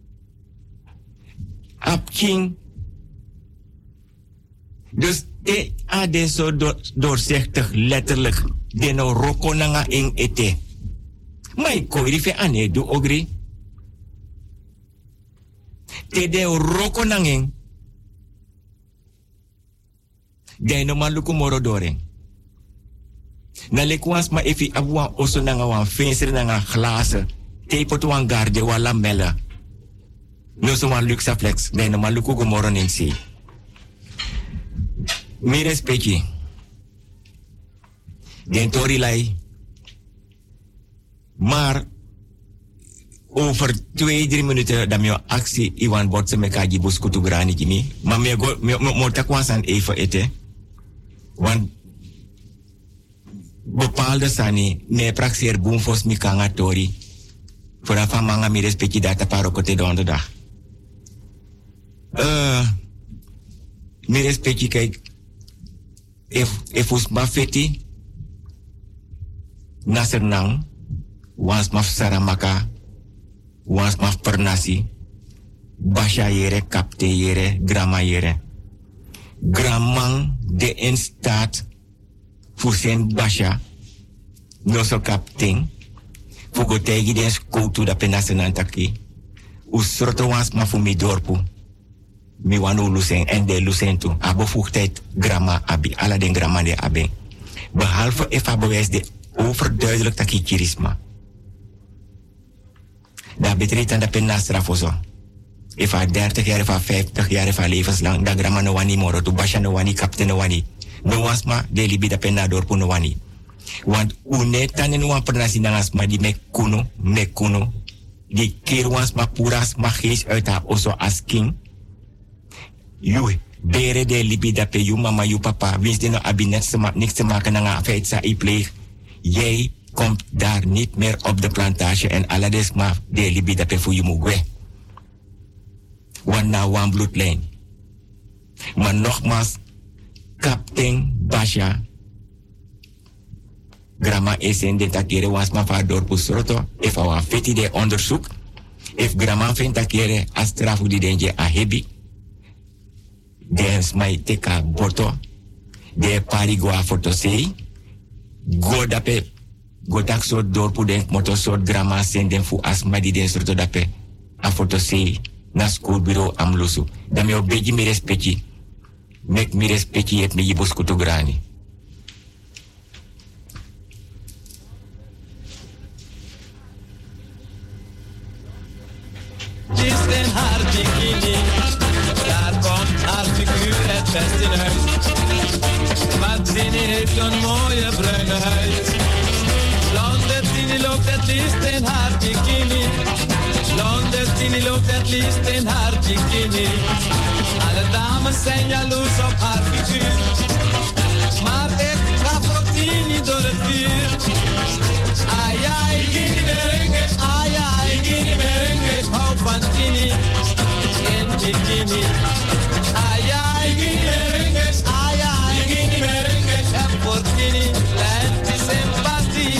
Ap king. Dus de ade zo doorzichtig, letterlijk. De no roko nanga en ete. Maar ik kon rife ane do ogri. Te de roko nanga. De no maluku moro doren. Na lekwans ma efi abuan oso nanga wan venster nanga glazen. Te potu wan garde wala mela. No so wan luxaflex. De no maluku go moro nensi. Mi respecti. Den tori lai. Maar over 2-3 minuten dan mijn actie Iwan botse me kaji buskutu grani kini. Maar me takwasan even eten. Want bepaalde sani me praxeer boomfos mi kanga tori. Vooraf van manga mi respecti data parokote donderdag. Mi respecti kijk. If us mafeti nasernang wans maf saramaka wans maf pernasi basha yere kapte yere grama yere gramang de in staat voor zijn basha no so kapting fugo tegi den skoutu da penasenantaki usroto wans mafumi dorpu mi wanu lusen en de lusen tu. A bevoegdheid gramma abi. Alla den gramma de abi. Behalve if bewijs de overduidelijk takikirisma. Dat betreft aan de penastra voor zo. If 30 jaar, if 50 jaar, if levenslang, dat gramma no wani moro, tu basha no wani, kapte no wani. No wasma, de libi da penador pu no wani. Want unetan en wan pernasi nangasma di mekuno. Die keer wansma puras ma gees uit haar oso as king. You bere de libi dat pe you mama you papa wist de no abi niks te maken na feit sa I pleeg. Jij komt daar niet meer op de plantage en alades ma de libi dat pe voor you mugwe. Want na one bloedlijn. Maar nogmaals, kapten Basha Grama esen de takere was ma va dorpu sroto if awa feti de onderzoek if grama fen takere astrafu di denje a hebi. Dens mai teka boto de pari go a fotosei go dape go tak so dorpu den moto so grama sen den fu asma di den sorto dape a fotosei na school bureau amlusu dami obeji mi respecti mek mi respecti et mi yibus kutu grani. Kist en haar bikini, daar komt haar figuur het best in uit. Maar Tini heeft een mooie bruine huid. Blonde Tini loopt het liefst in haar bikini. Blonde Tini loopt het liefst in haar bikini. Alle dames zijn jaloers op haar figuur. Maar ik ga voor Tini door het vuur. Ai ai, Tini merengue, ai ai, Tini merengue. Ik hou van Tini in bikini. Ai ai, Tini merengue, ai ai, Tini merengue. Ik heb voor Tini lente sympathie.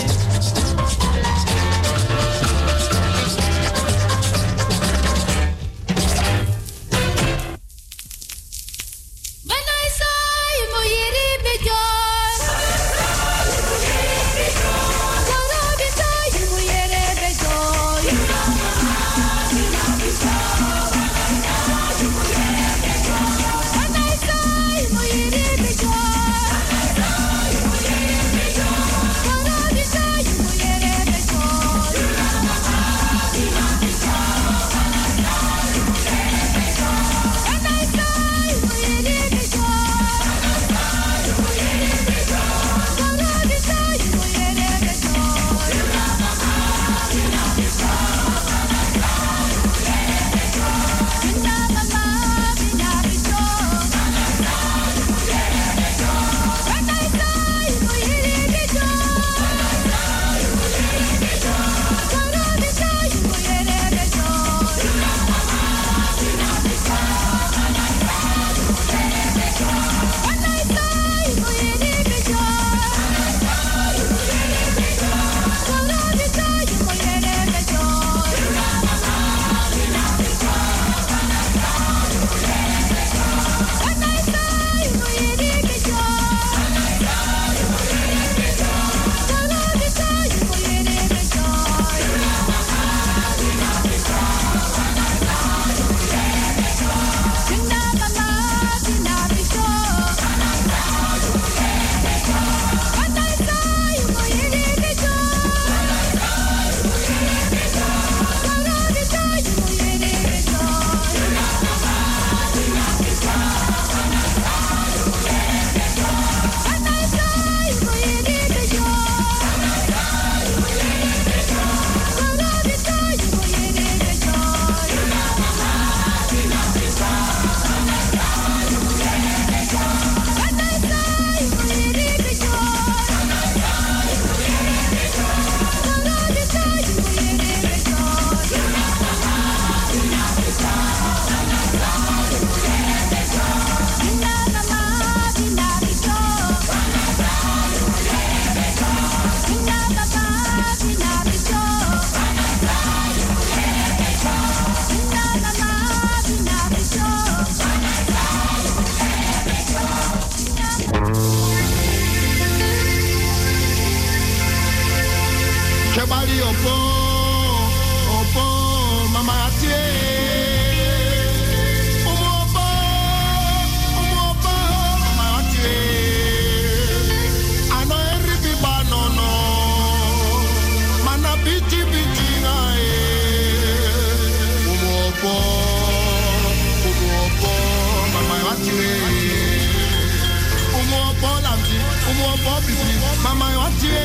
opo, opo, mama atie. Opo, mama atie. Ano eribi banono, mana biti biti ngae. Opo, mama atie. Opo lamti, opo biti, mama atie.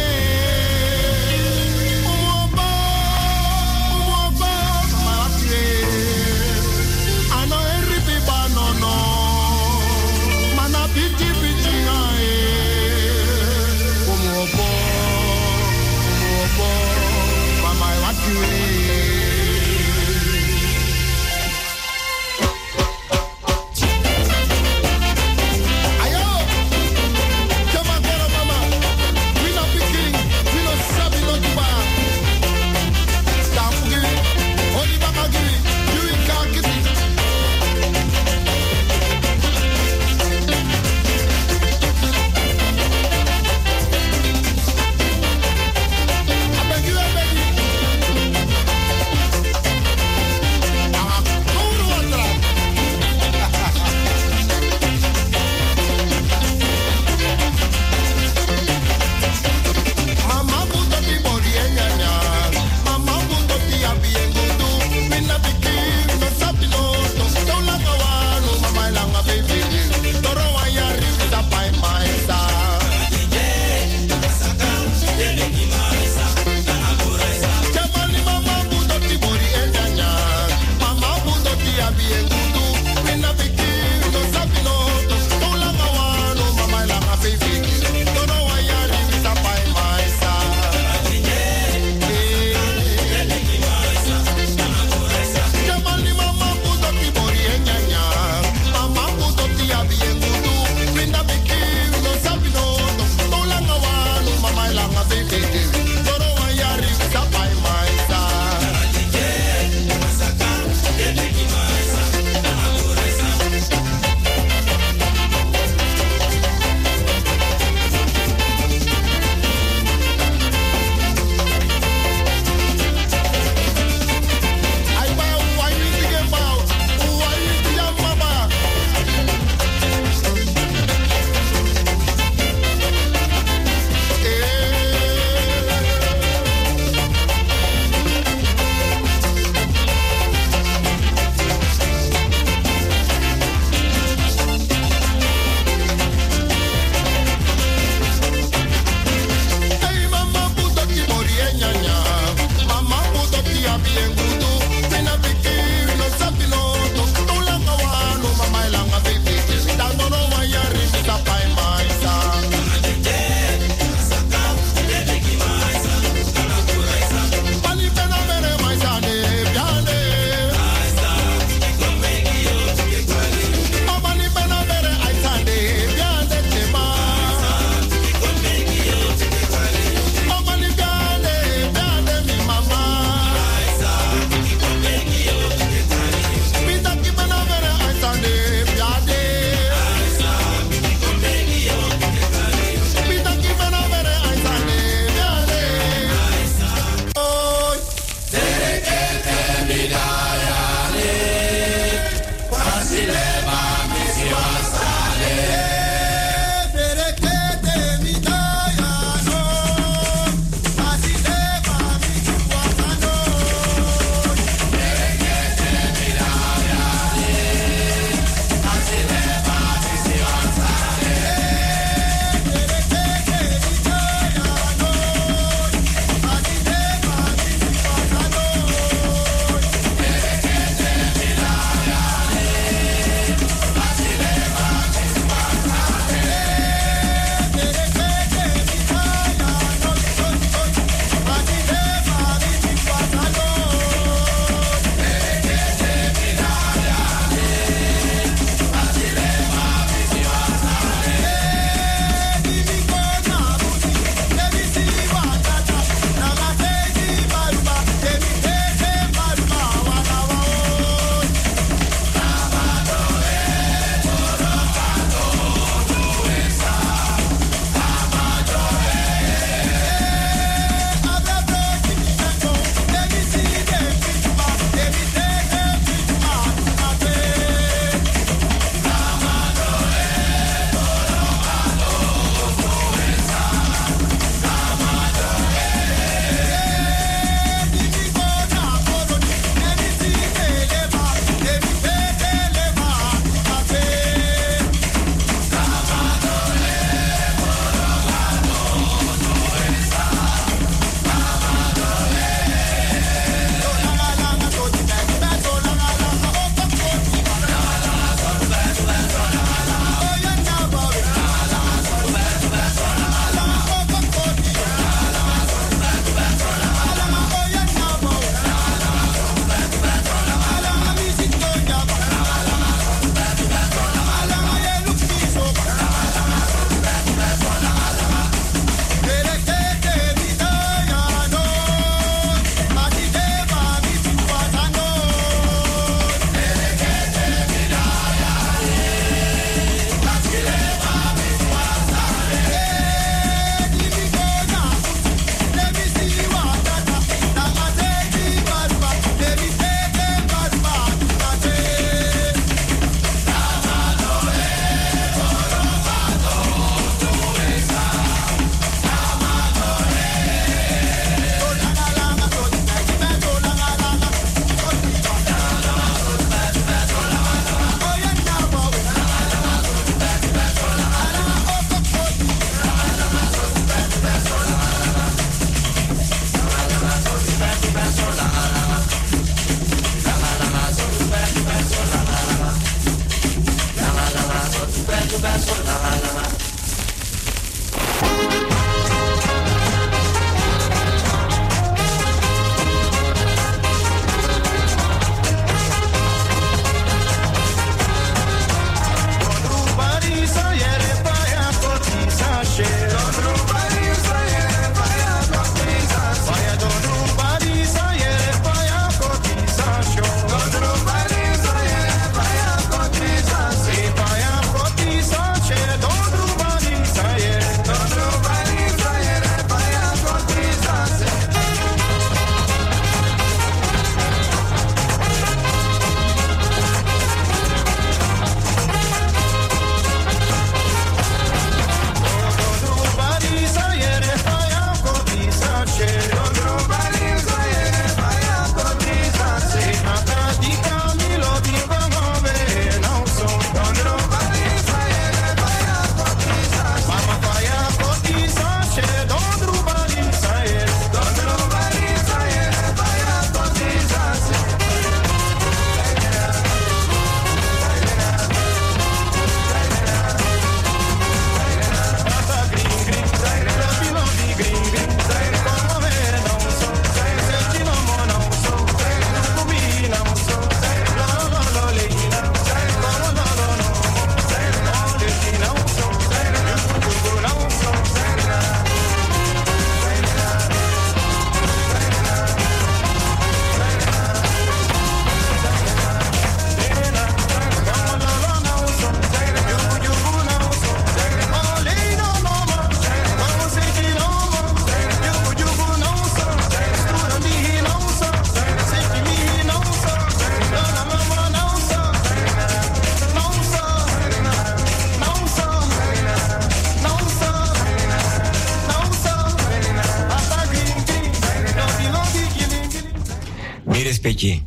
Peki.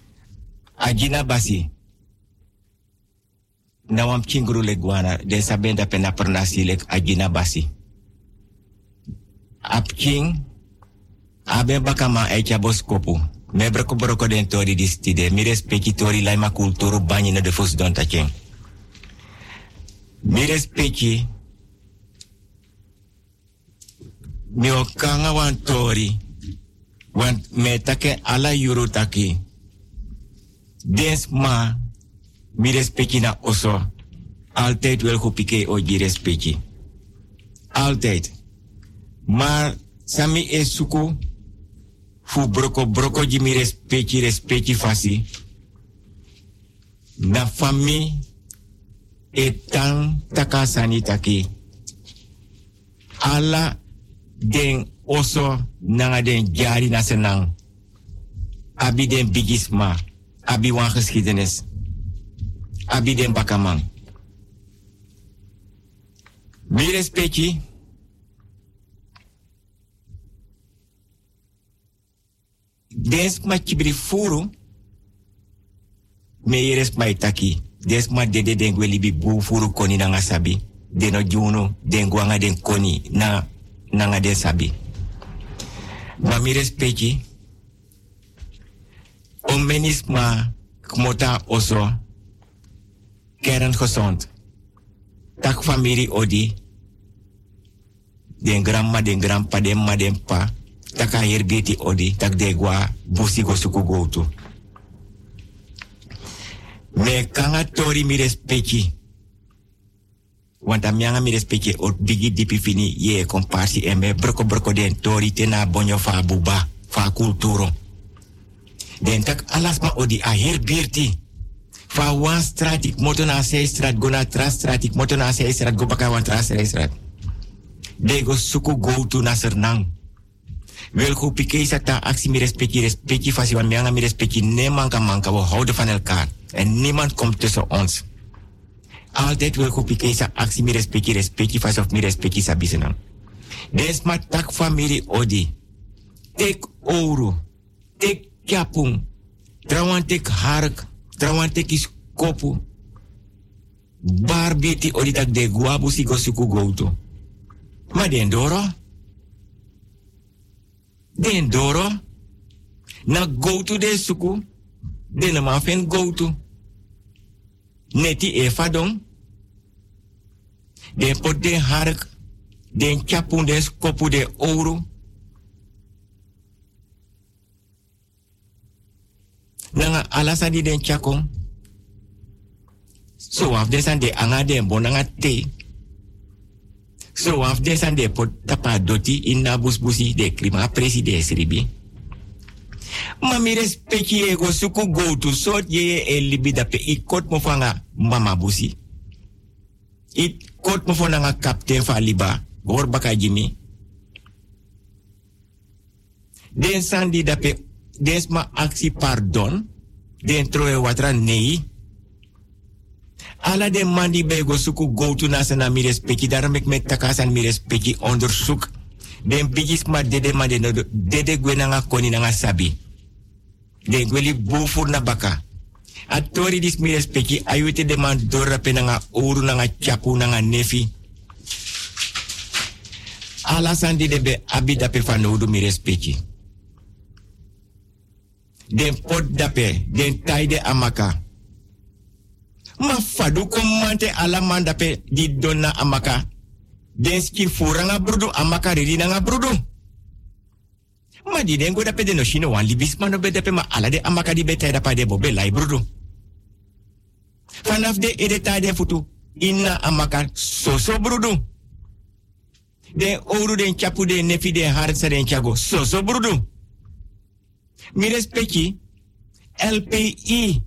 Agina basi. Nawam chinguru leguana de sabenda pena pernasi lek agina basi. Ap king abe bakama echa boskopu. Me broko den tori distide. Mi respecti tori laima kulturu banyi na de fos don tachen. Mi respecti mi okanga wan tori. Want me take ala yuru taki. Dens ma mi respecti na oso. Altijd wel kupike oji respecti. Altijd. Maar sami e suku fu broko ji mi respecti fasi. Na fami etan takasani taki. Ala den oso nanga den jari na senang. Abi den bigisma. Abi wan geschiedenis. Abi den bakamang. Mi respecti. Des ma chibri furu. Me yeres ma itaki. Des ma dede den gwelibi bu furu koni nanga sabi. Deno juno den gwanga den koni nanga den sabi. Ma mi respecti. Omenisma kmota oso. Kern gezond. Tak familie odi. Den grandma, den grandpa, den ma, den pa. Taka herbeti odi. Tak de gwa busi go suku go tu. Me kanga tori mi respecti. Want amyanga mi respecti ot bigi dipi fini ye komparsi eme broko den tori tena bonyo fa buba fa kulturo. Den tak alasma odi a herbirti. Fa wan stratik moto na se strat go na tra stratik moto na se strat go baka wan tra strat. De go suku go tu na sernang. Wel go pike sata aksi mi respecti fasi wan mianga mi respecti ne manka we houden van elkaar. En niemand komt tussen ons. Altijd wil go pike sa aksi mi respecti fasi of mi respecti sa bisenang. Des ma tak familie odi. Tek ouro. Tek Kapung, trawantek hark, trawantek is kopu. Barbiti oritak de guabu si gosuku gouto. Ma den doro? Den doro? Na gouto de suku? Den ma fen gouto. Neti e fadong? Den pot den hark, den chapun den skopu de ouro. Nanga alasan di den chakong. So af desan de anga den bonanga te. So af desan de pot tapa doti in na busbusi de klima preside sribi. Ma mi respecti ego suku go to sort ye e libi dape I kot mo fanga mama busi. I kot mo fanga kapten fa liba gor baka jimi. Den sandi dape desma aksi pardon den troe watra nei. Ala de mandi bego suku go to nasana mi respecti daarom ik met takasan mi respecti onderzoek. Den bigis ma dede ma dede gwenanga koni nanga sabi. Den gweli bufur na baka. Atori dis mi respecti ayute de man dorape nanga oru nanga chapu nanga nefi. Ala sandi debe abida pe fanodu mi respecti. Den pot dape, den taide amaka. Ma fadu komante ala mandape di donna amaka. Den ski furanga brudu amaka riri nanga brudu. Ma di den go dape de no shino wan libis mano be dape ma ala de amaka di beta dapa de bobe lai brudu. Vanaf de edeta de futu inna amaka soso brudu. Den oru den chapu de nefi de hartsa den chago soso brudu. Mi respecti LPI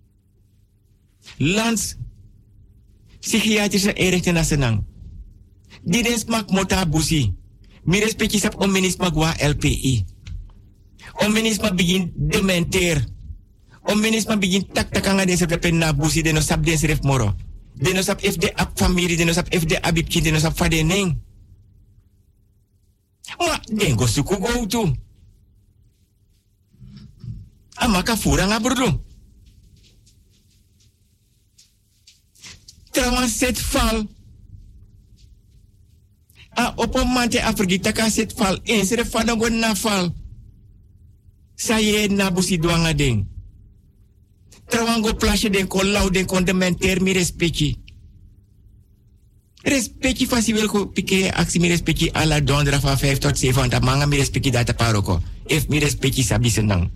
Lands Psychiatrische Inrichting Nasional. Die den smak mota busi. Mi respecti sap omenisma gwa LPI. Omenisma begin dementer. Omenisma begin tak-takanga den sap na busi den no sap den seref moro. Den no sap FD ap familie, den no sap FD abib kind, den no sap fade neng. Ma den go suku go tu. Amaka furanga brudu. Trawan set fal. A opomante afrigita ka set fal. Sere fanagon na fal. Saye na busi duanga ding. Trawan go plasje den kon lau den kon dementer mi respecti. Respecti fasi wil ko pike aksi mi respecti ala dondra van 5 tot 7 want manga mi respecti data paroko. If mi respecti sabi senang.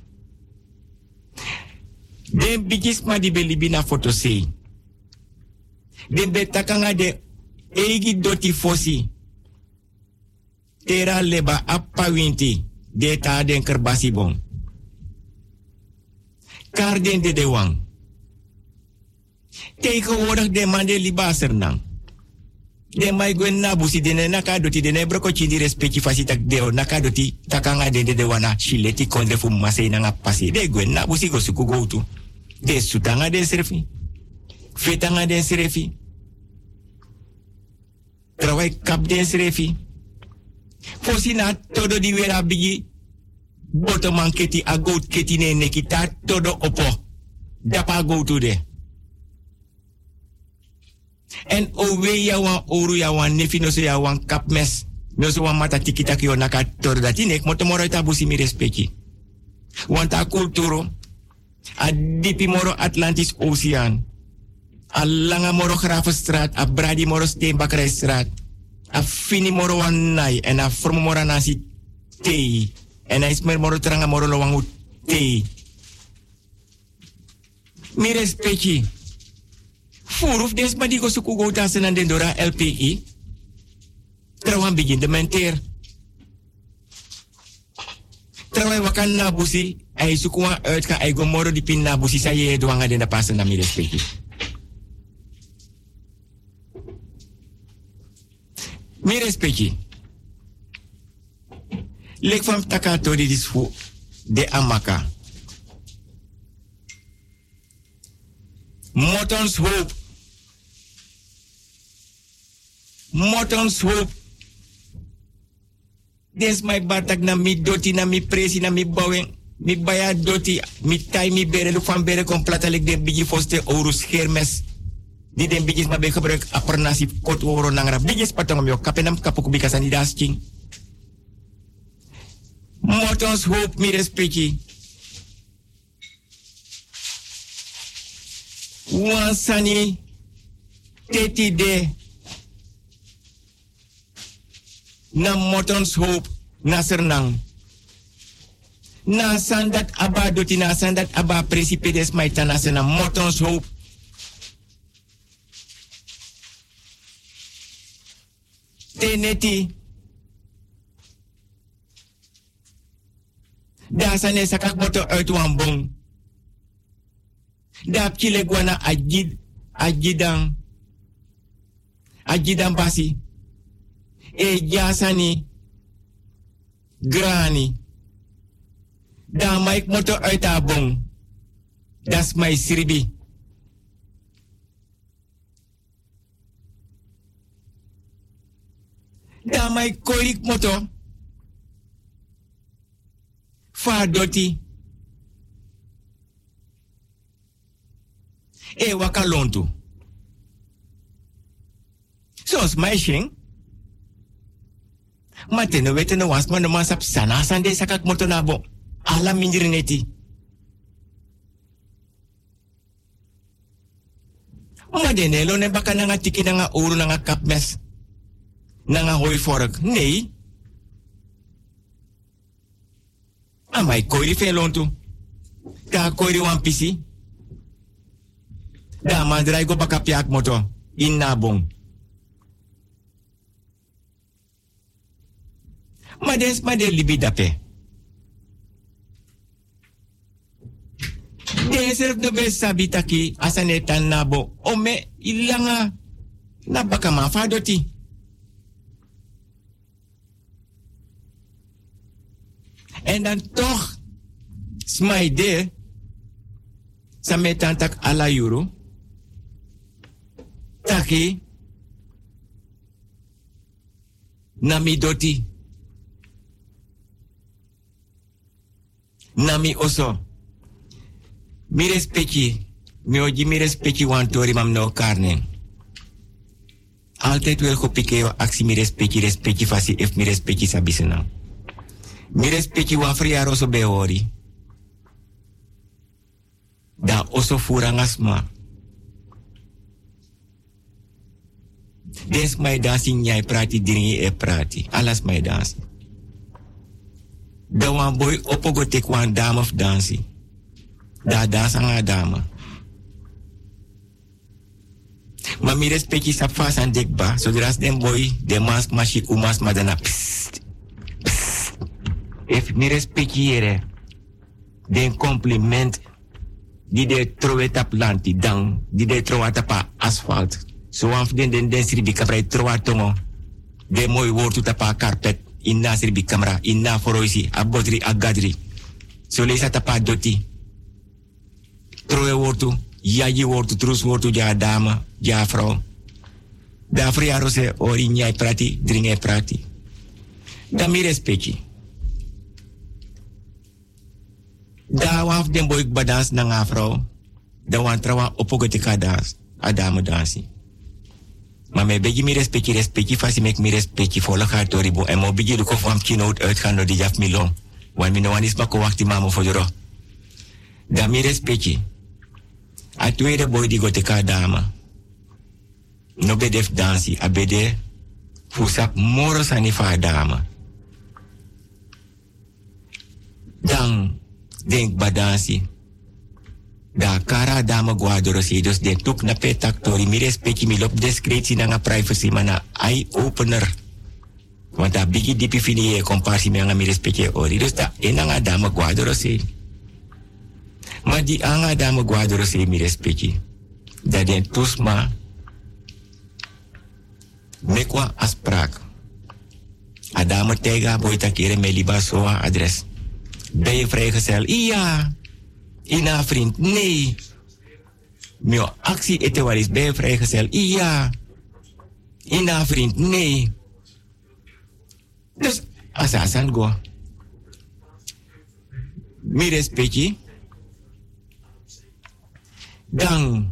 Den bigis ma di belibi na foto sei. Den betakanga de egi doti fosi. Tera leba appa winti. De ta den kerbasi bon. Kar den de wang. Tegenwoordig de man de liba sernang. De mai gwen na busi de naka doti de broko chindi respecti fasi tak deo naka doti takanga de wana shileti kondre fu masei nanga pasi. De gwen na busi go suku go tu. De sutanga de serfi. Fetanga de serfi. Trawai kap de serfi. Fosina todo di wera bigi. Botoman keti a goat keti ne nekita todo opo. Dapa go to de. En owe ya wan oru ya wan nefi no so ya wan kapmes. No so wan mata tikita ki onaka todo dati nek motomoro ita busi mi respecti. Wanta kulturo. A dipi moro Atlantis Oceaan. A langa moro Gravenstraat. A bradi moro Steenbakkerijstraat. A fini moro wanai. En a formo moro nasi tei. En a ismer moro tranga moro lowangu tei. Mi respecti. Furuf des ma di go suku go tasen an den dora LPI. Trawan begin de menteer. Trawan wakan na busi. Ay sukuwa uit ka ay gomoro di pin na busi sa ye doanga den da pasen na mi respecti. Mi respecti. Lek van takato di disfu de amaka. Motons hoop. Motons hoop. Des my batak na mi doti na mi presi na mi bouwing. Mi baya doti, mi tai mi bere, lu van bere complata lek den bigi foste ouro schermes. Di den bigis ma be gebruik apernasi kot ouro nangra. Bigis patong myo kapenam kapuk bikasan di dasking. Motons hoop mi respecti. Wansani teti de na motons hoop na sernang. Na sandat aba doti na sandat aba presipides maitana na motons hoop. Teneti. Daar zijn sakak moto uit wambong. Daar kile guana ajidan basi. E jasani grani. Daar maik moto uit abong. Das my siribi. Daar maik korik moto. Fa doti. E waka lontu. Zoals meisje. Maar ten weten no was man man sap sana sande sakak moto nabo. Ala minjrineti. Maar de nelo ne baka nanga tiki nanga oru nanga kapmes. Nanga hoi vork. Nee. Amai koiri fe lontu. Ka koiri wan pisi. Da mandrai go baka piak moto. In nabong. Maar de libi dape. De serf de best sabitaki asanetan nabo. Ome ilanga. Na baka mafadoti. En dan toch smaide sametantak ala euro. Taki nami doti. Nami oso. Mi respecti. Mi oji mi respecti wan tori mam no karne. Altijd wel gopikeo aksi mi respecti fasi if mi respecti sabisena. Mi respecti wan fria roso beori. Da oso furangasma. Des my dansi nyai prati dringi e prati. Alas my dansi. Da wan boy opogo tek wan dame of dansi. Da dansa nga dame. Ma mi respecti sa fas an dekba. Zodras den boy de mas mashi umas madana. Psst. Psst. If mi respecti ere. Den compliment. Die de trowe tap lanti dang. Die de trowe tapa asfalt. So af den sribi kaprai trowa tongo. De mooi woord tapa carpet. Inna sribi camera. Inna foroisi. Abodri agadri. So leisa tapa doti. Trowe woord yaji woord trus woord ja dame. Ja vrouw. Da friaro se ori nyai prati. Dringe prati. Da mi respecti. Da waf den boy badans na nga vrouw. Da wan trawa opogotika dans. Adame dansi. Maar mij begi mi respecti fasi mek mi respecti volle gaat door ribo. En mo begi de kof am kinoot uitgaan door die jaf milong. Want mi no wan is mako wachti mamo voor de ro. Da mi respecti. A tweede boy die goteka dama. No bedef dansi. A bede fusap moros anifa dama. Dan denk badansi. Da kara dama guadorosi, dus den tuk na petaktori, mi respecti mi lop discretie na nga privacy mana eye opener. Want da bigi dipi fini e komparsi me nga mi respecti ori, dus da enanga dama guadorosi. Ma di anga dama guadorosi mi respecti. Da den tusma mekwa asprak. Adama tega boita kere me liba soa adres. Ben je vrijgezel? Ja. Ina vriend, nee. Mio actie etewaris, ben je vrijgezel? Ja. Ina vriend, nee. Dus, asasan go. Mi respecti. Dan.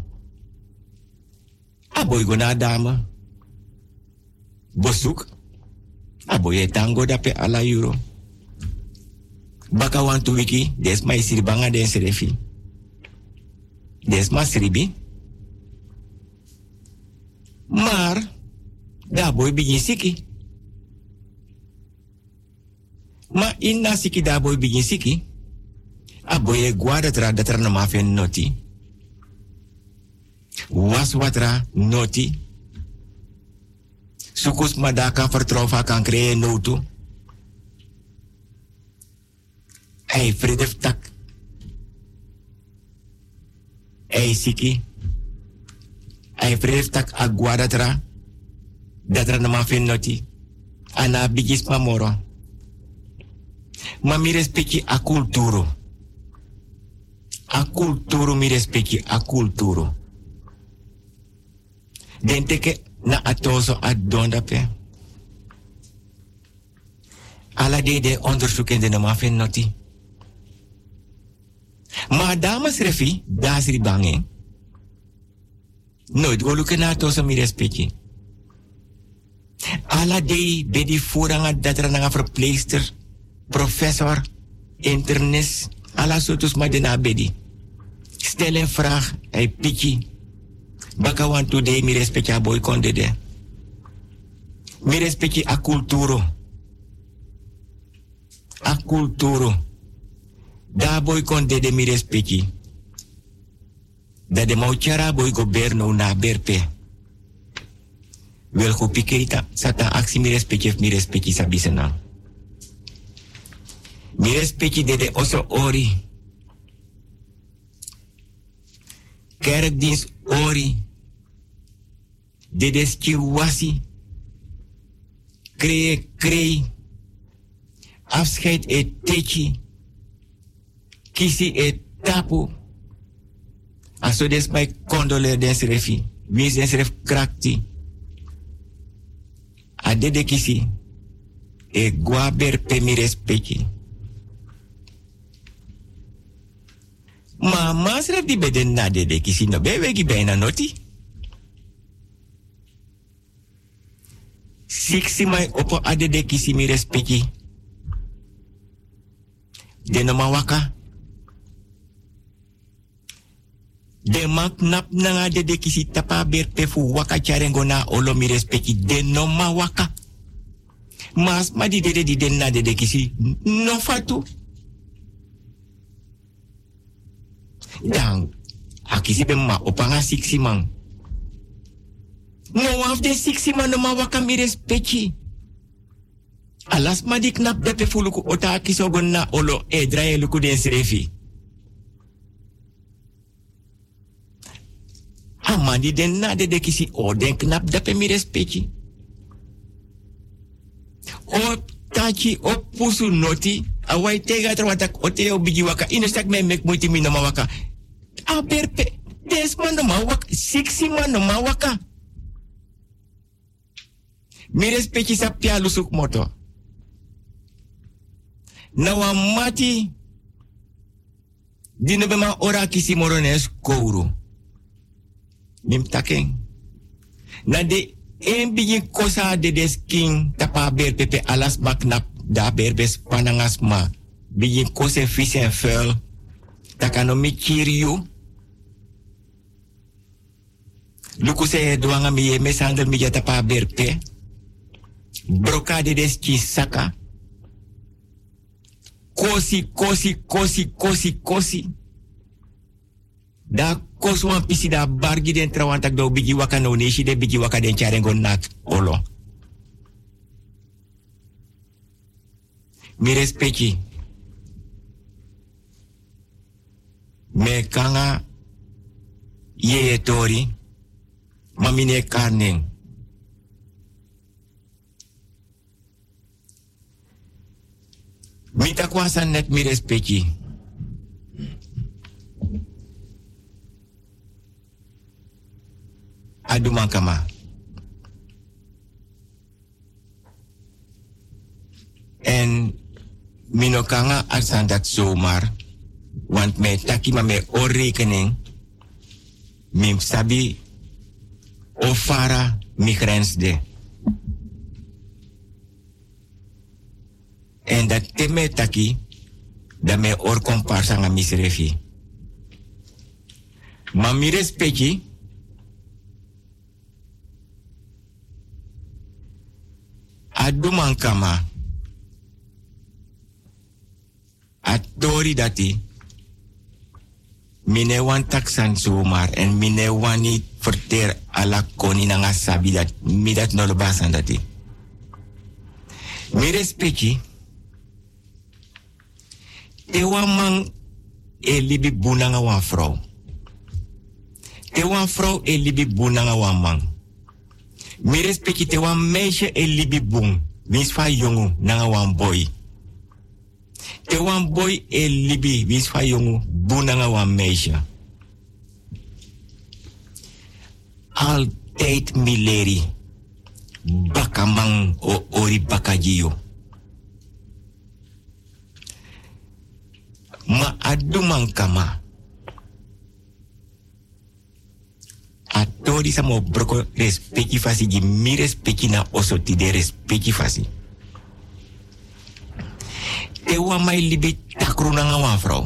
Aboy go na dame. Bosuk. Aboy tango dape ala euro. Baka want to wiki, des ma isiribanga den serefi. Des ma siribi. Maar, da boy begin siki. Ma inna siki da boy begin siki. A boy guarda tra dat er na mafen noti. Was watra noti. Sukus madaka vertrouwen kan creëren notu. Hij vredef tak. Hij siki. Hij vredef tak aguada tra. Dat er na mafen noti. Ana bigis mamoro. Ma mi respecti a culturo. A culturo mi respecti a culturo. Dente che na atoso a donda pe. Ala de onderzoek in de nama fen noti. Ma dames refi, dasri bangen. Nooit goluke na atoso mi respecti. Ala de bedi vooranga datra na verpleegster, professor, internist, ala sotus ma de na bedi. Stel een vraag, hij piki. Baka want today mi respecti a boy konde de. Mi respecti a culturo. A culturo. Da boy konde de mi respecti. Da de mauchara boy goberno na berpe. Wel go piketa sata aksi mi respecti sabisena. Mi respecti de oso ori. Kerkdienst ori. De skiwasi. Kree. Afscheid et techi. Kisi et tapu. Aso des my condoleer den refi. Wie den ref krakti. Adede kisi. E guaber pe mi respecti. Ma masref di beden na dede kisi no bewegi bijna noti. Siksi mai opo adede kisi mi respecti. De no mawaka. De mak nap nanga adede kisi tapa berpe fu waka charengo na olo mi respecti. De no mawaka. Mas ma di dede di den na dede kisi no fatu. Dan, akisi be ma opanga siksi man. No af de siksi man no ma waka mi respecti. Alas ma di knap depe fuluku ota akiso gonna olo e draye luku den srefi. Amandi den na de kisi o den knap depe mi respecti. O tachi o pusu noti. Awai tega terwatak ote o biji waka. Inestak me mek muiti mi no ma waka. Aberpe, desman no mawak, siksi man no mawaka. Mi respecti sa pia lusuk moto. Na wa mati, dino bema ora kisi morones kouru. Mim taken. Na de en bigi kosa de desking tapa berpepe alas maknap da berbes panangasma. Bigi kose vis en vuil. Takano mi kiriu. Luku se duanga mi ye mesandel mi jata pa berpe. Brokade des ki saka. Kosi. Da kosu wan pisi da bargi den trawantak do bigi waka no neshi de bigi waka den charengo nak olo. Mi respecti. Me kanga ye tori. Mamine karning. Mita kwasan net mi respecti. Aduman kama. En minokanga arsan dat zomaar. Want me taki ma me oorrekening. Mim sabi ofara mi grens de. En dat teme taki, da me or komparsa nga misrefi. Ma mi respecti, aduman kama, atori dati. Mine wan taksan zomaar en mine wan niet verter ala koni nanga sabi dat mi dat no basan dati. Mi respecti. Te wan man e libi bunanga wan vrouw. Te wan vrouw e libi bunanga wan man. Mi respecti te wan meisje e libi bun. Wins fa jongu nanga wan boy. Te wan boy e libi wins fa jongu bunanga wan meisje. Altijd mileri. Bakamang o ori bakajio. Ma aduman kama. Atori samo broko respecti fasi gi mi respecti na oso ti de respecti fasi. Te wa mai libi takru na wan vrouw.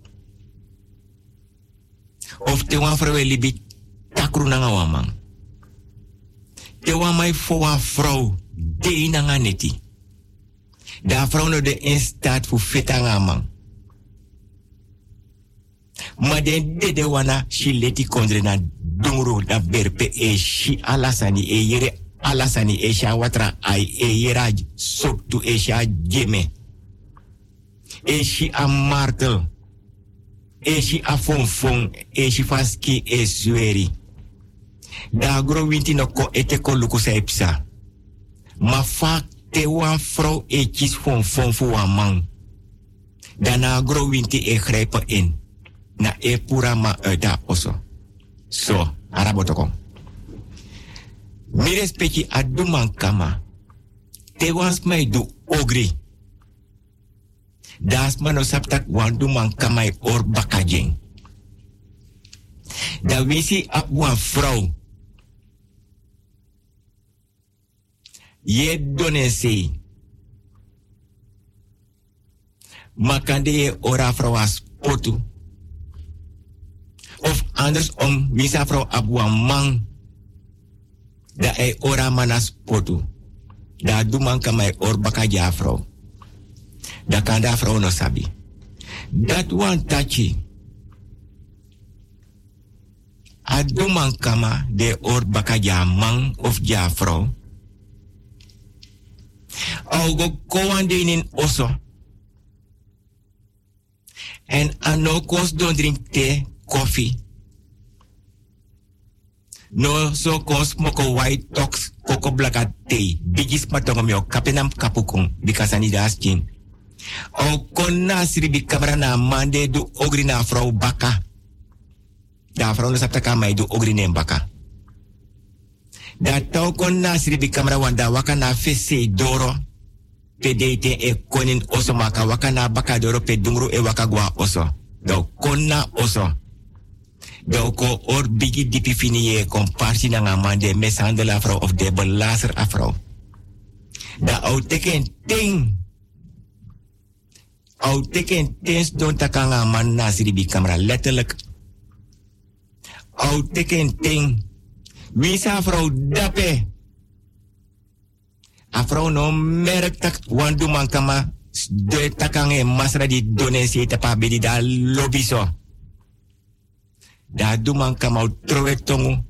Of te wan vrouw libi takru na wan man. Te wa mai fo wan vrouw de na neti. Da vrouw no de in staat fu feta man. Ma de wana shi leti kondre na dungru na berpe e shi alasani e yere alasani e sha watra ai e yera soktu e sha geme e shi a martel e shi a fonfon e shi faski e sueri da gro winti no ko ete ko luku saipsa ma fa te wan vrouw e kis fonfon fu wan man dana gro winti e grijpen in na e pura ma da oso. So, arabotokon. Mi respecti aduman kama. Te wans mai du ogri. Das mano saptak wan duman kama e or bakajeng. Da wisi ap wan vrouw. Ye donen se. Makande ye ora vrouw as potu. Of andersom, wisa vrouw abwa man. Da e ora manas potu. Da du man kama or bakaja vrouw. Da kan da vrouw no sabi. Dat wan tachi. A du man kama de or bakaja man of ja vrouw. Au go kowan de in oso. En ano kos don drink thee. Koffie. No so kos moko white tox koko blaka tea. Bigis matongo mio kapenam kapukung bikasani da askin. O konna sribi kamera na mande du ogri na vrouw baka. Da vrouw no sapta kama du ogri ne baka. Da tau konna sribi kamera wanda waka na fese doro. Pedete e konin oso maka waka na baka doro pe dungru e waka gwa oso. Da konna oso. Doko or bigi dipi finiye komparsi na nga man de meshandel afro of de belazer afro. Da au teken ting. Au teken tens don takanga man nasiri bi camera letterlijk. Au teken ting. Wisa afro dape. Afro no merk tak wandu man kama de takange masra di donesi tapa bedi da lobiso. Da du man kama trowe tongu.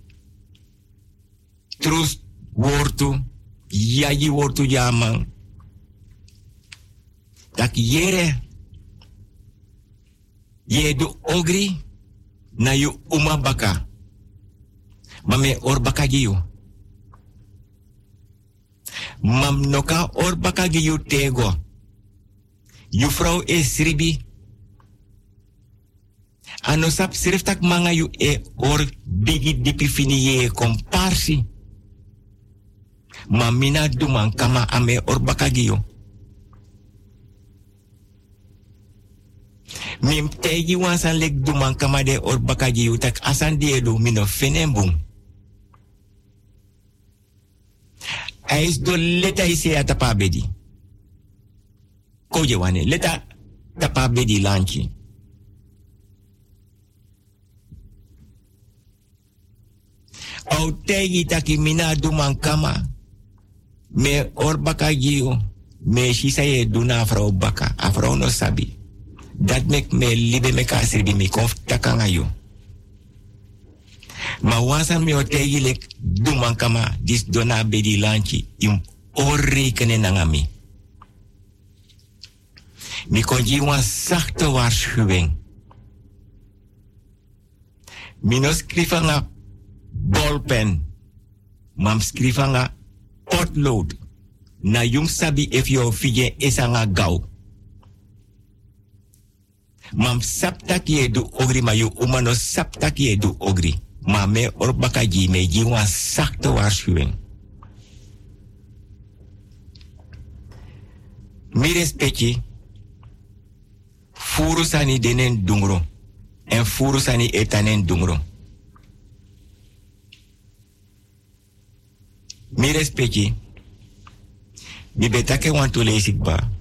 Trus wortu. Yaji wortu jaman. Tak yere. Ye du ogri. Na yu uma baka. Mame or baka giyu. Mam noka or baka giyu tego. Yu vrouw is ribi. Ano sap siriftak manga yu e or bigi dipi fini ye komparsi. Mamina duman kama ame or bakagiyo. Mim tegi wansan lek duman kama de or bakagiyo tak asan diedo mino fenembung. Ais do leta ise atapa bedi. Koje wane leta tapa bedi lanchi. Au tegi taki mina duman kama. Me or baka giyo. Me shisa ye duna afro baka. Afro no sabi. Dat mek me libe me kasribi mi konf takanga yo. Ma wansan mi otegilek duman kama dis dona bedi lanchi im orrekene nangami. Mi konji wan zachte waarschuwing. Mi no skrifa nga bolpen. Mam skrifa nga potlood. Na yung sabi if yo fije isa nga gauw. Mam saptaki edu ogri ma yu umano saptaki edu ogri. Ma me orbakaji me ji wan zachte waarschuwing. Mi respecti. Furu sani denen dungro. En furu sani etanen dungro. Mi respecti. Mi betake want to lees ik ba.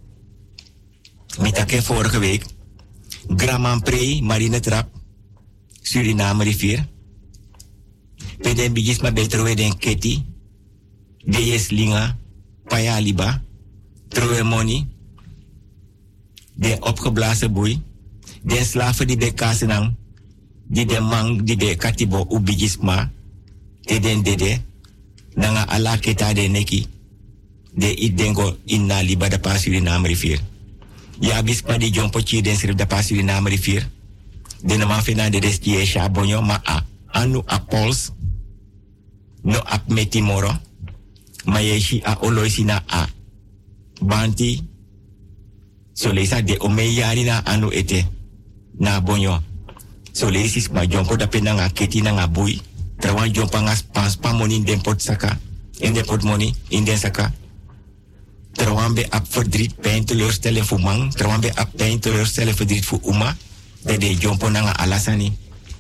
Mi take vorige week. Graman Prey, Marine Trap. Suriname rivier. Peden bijis ma betrowe den Keti. Deyes Linga. Payaliba. Trowe Money. De opgeblazen boei. De slaven die bij Kasenang. Die de mang die bij Katibo ubijisma. Den dede. Nanga ala keta de neki. De idengo inna liba da pa Suriname rivier. Ja bispa di jompochi den srif da pa Suriname rivier. De nama fena de destie shabonyo ma a. Anu a pols. No ap metimoro. Ma yeshi a oloisi na a. Banti. So lesa de omeyari na anu ete. Na bonyo. So lesis ma jompo da pena nga keti na nga bui. Trawan jompa nga spa moni in den pot saka. In den pot moni in den saka. Trawan be ap verdriet pijn teleurstellen voor man. Trawan be ap pijn teleurstellen verdriet voor uma. De jompo na nga alasani.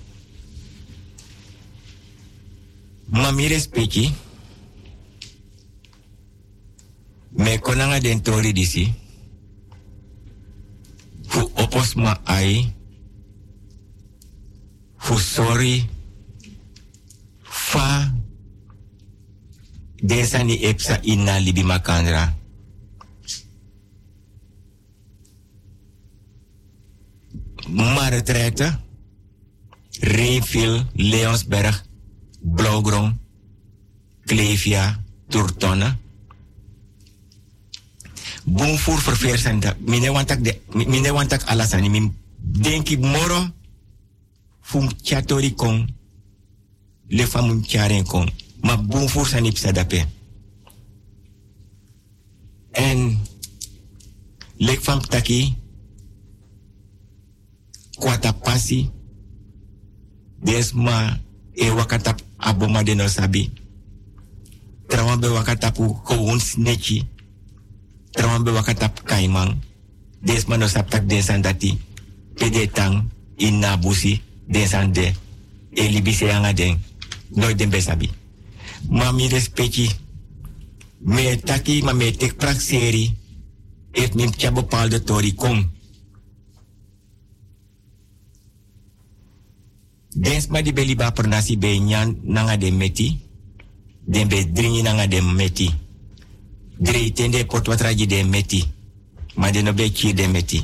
Mami respecti. Me konanga den tori disi. Fu opos ma ai. Fu sorry. Fa. Desani epsa inna libi makandra. Maretraite. Reenville, Leonsberg, Blauwgrond, Klevia, Turtonne. Boomvoer verveer zijn dat. Mine wantak alasani. Min denk ik moro. Fum chatori kong. Le famun charen kong. Ma boomvoer zijn niet sadape. En. Lek fam taki. Kwata pasi. Desma. E wakatap aboma de no sabi. Trawambe wakatapu gewoon snitchy. Trawambe wakatap kaimang. Desma no saptak desan dati. Pedetang in nabusi desan de. Elibise anga den. Nooit den besabi. Mami respecti. Me taki ma me tek prak seri. Heeft me tja bepaalde tori kom. Densma di beliba pernasi be nyan nanga de meti. Den be dringi nanga de meti. Drei tende potwatraji de meti. Ma de no be chi de meti.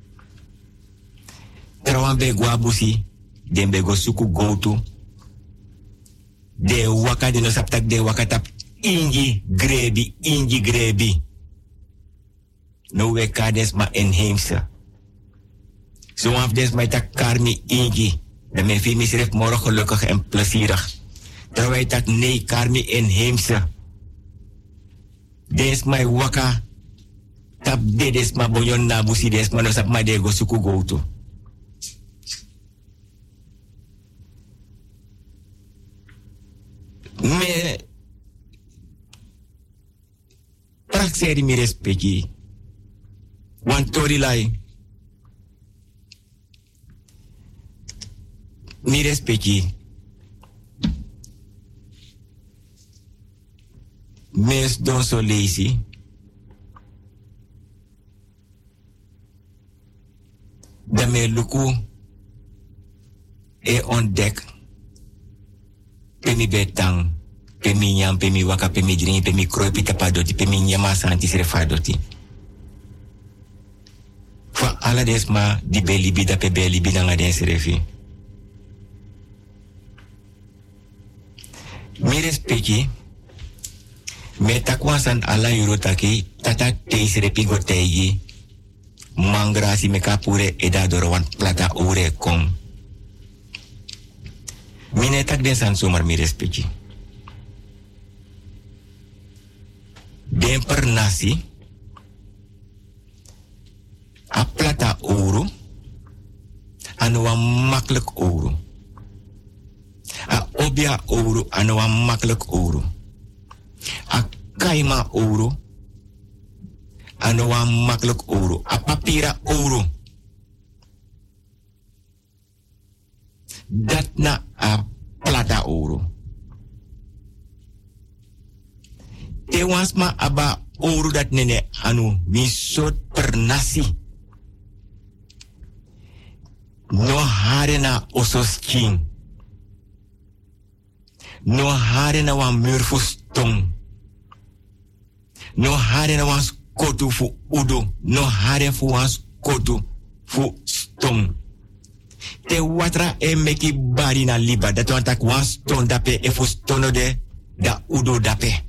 Trawan be guabusi. Den be go suku goutu. De waka de no saptak de wakatap. Ingi grebi. No we kades ma enheemse. Zo af des ma tak karmi ingi. De mijn film is morgen gelukkig en plezierig. Terwijl dat nee, karmi inheemse. Des my waka. Tap de des ma bonyon nabusi des ma no sap ma de go suku goutu. Me prakseri mi respecti. Wan tori lai. Mi respecti. Mes don so lazy. Da me luku e ontdek. Pemi betang. Pemi nyam, pemi waka, pemi dringi, pemi krooi, pita padoti, pemi nyama santi srefadoti. Fa ala desma di belibi da pe belibi na nga den serefi. Mi respecti, me takwasan ala yurotaki, tata teis repigo teigi, mangrasi me kapure edadoro wan plata ure kom. Mine tak den san sumar mi respecti. Den per nasi, a plata ouro, anu wan makkelijk ouro. A obia ouro, anu wan makkelijk ouro. A kaima ouro, anu wan makkelijk ouro. A papira ouro. Dat na a plata ouro. Te wansma aba ouro dat nene anu mi soort per nasi. No hare na osos king. No hare na wan murfu stong. No hare na wan skotu fu udo. No hare fu wan skotu fu stong. Te watra e meki bari na liba. Dat wan tak wan stong dape e fu stono de da udo dape.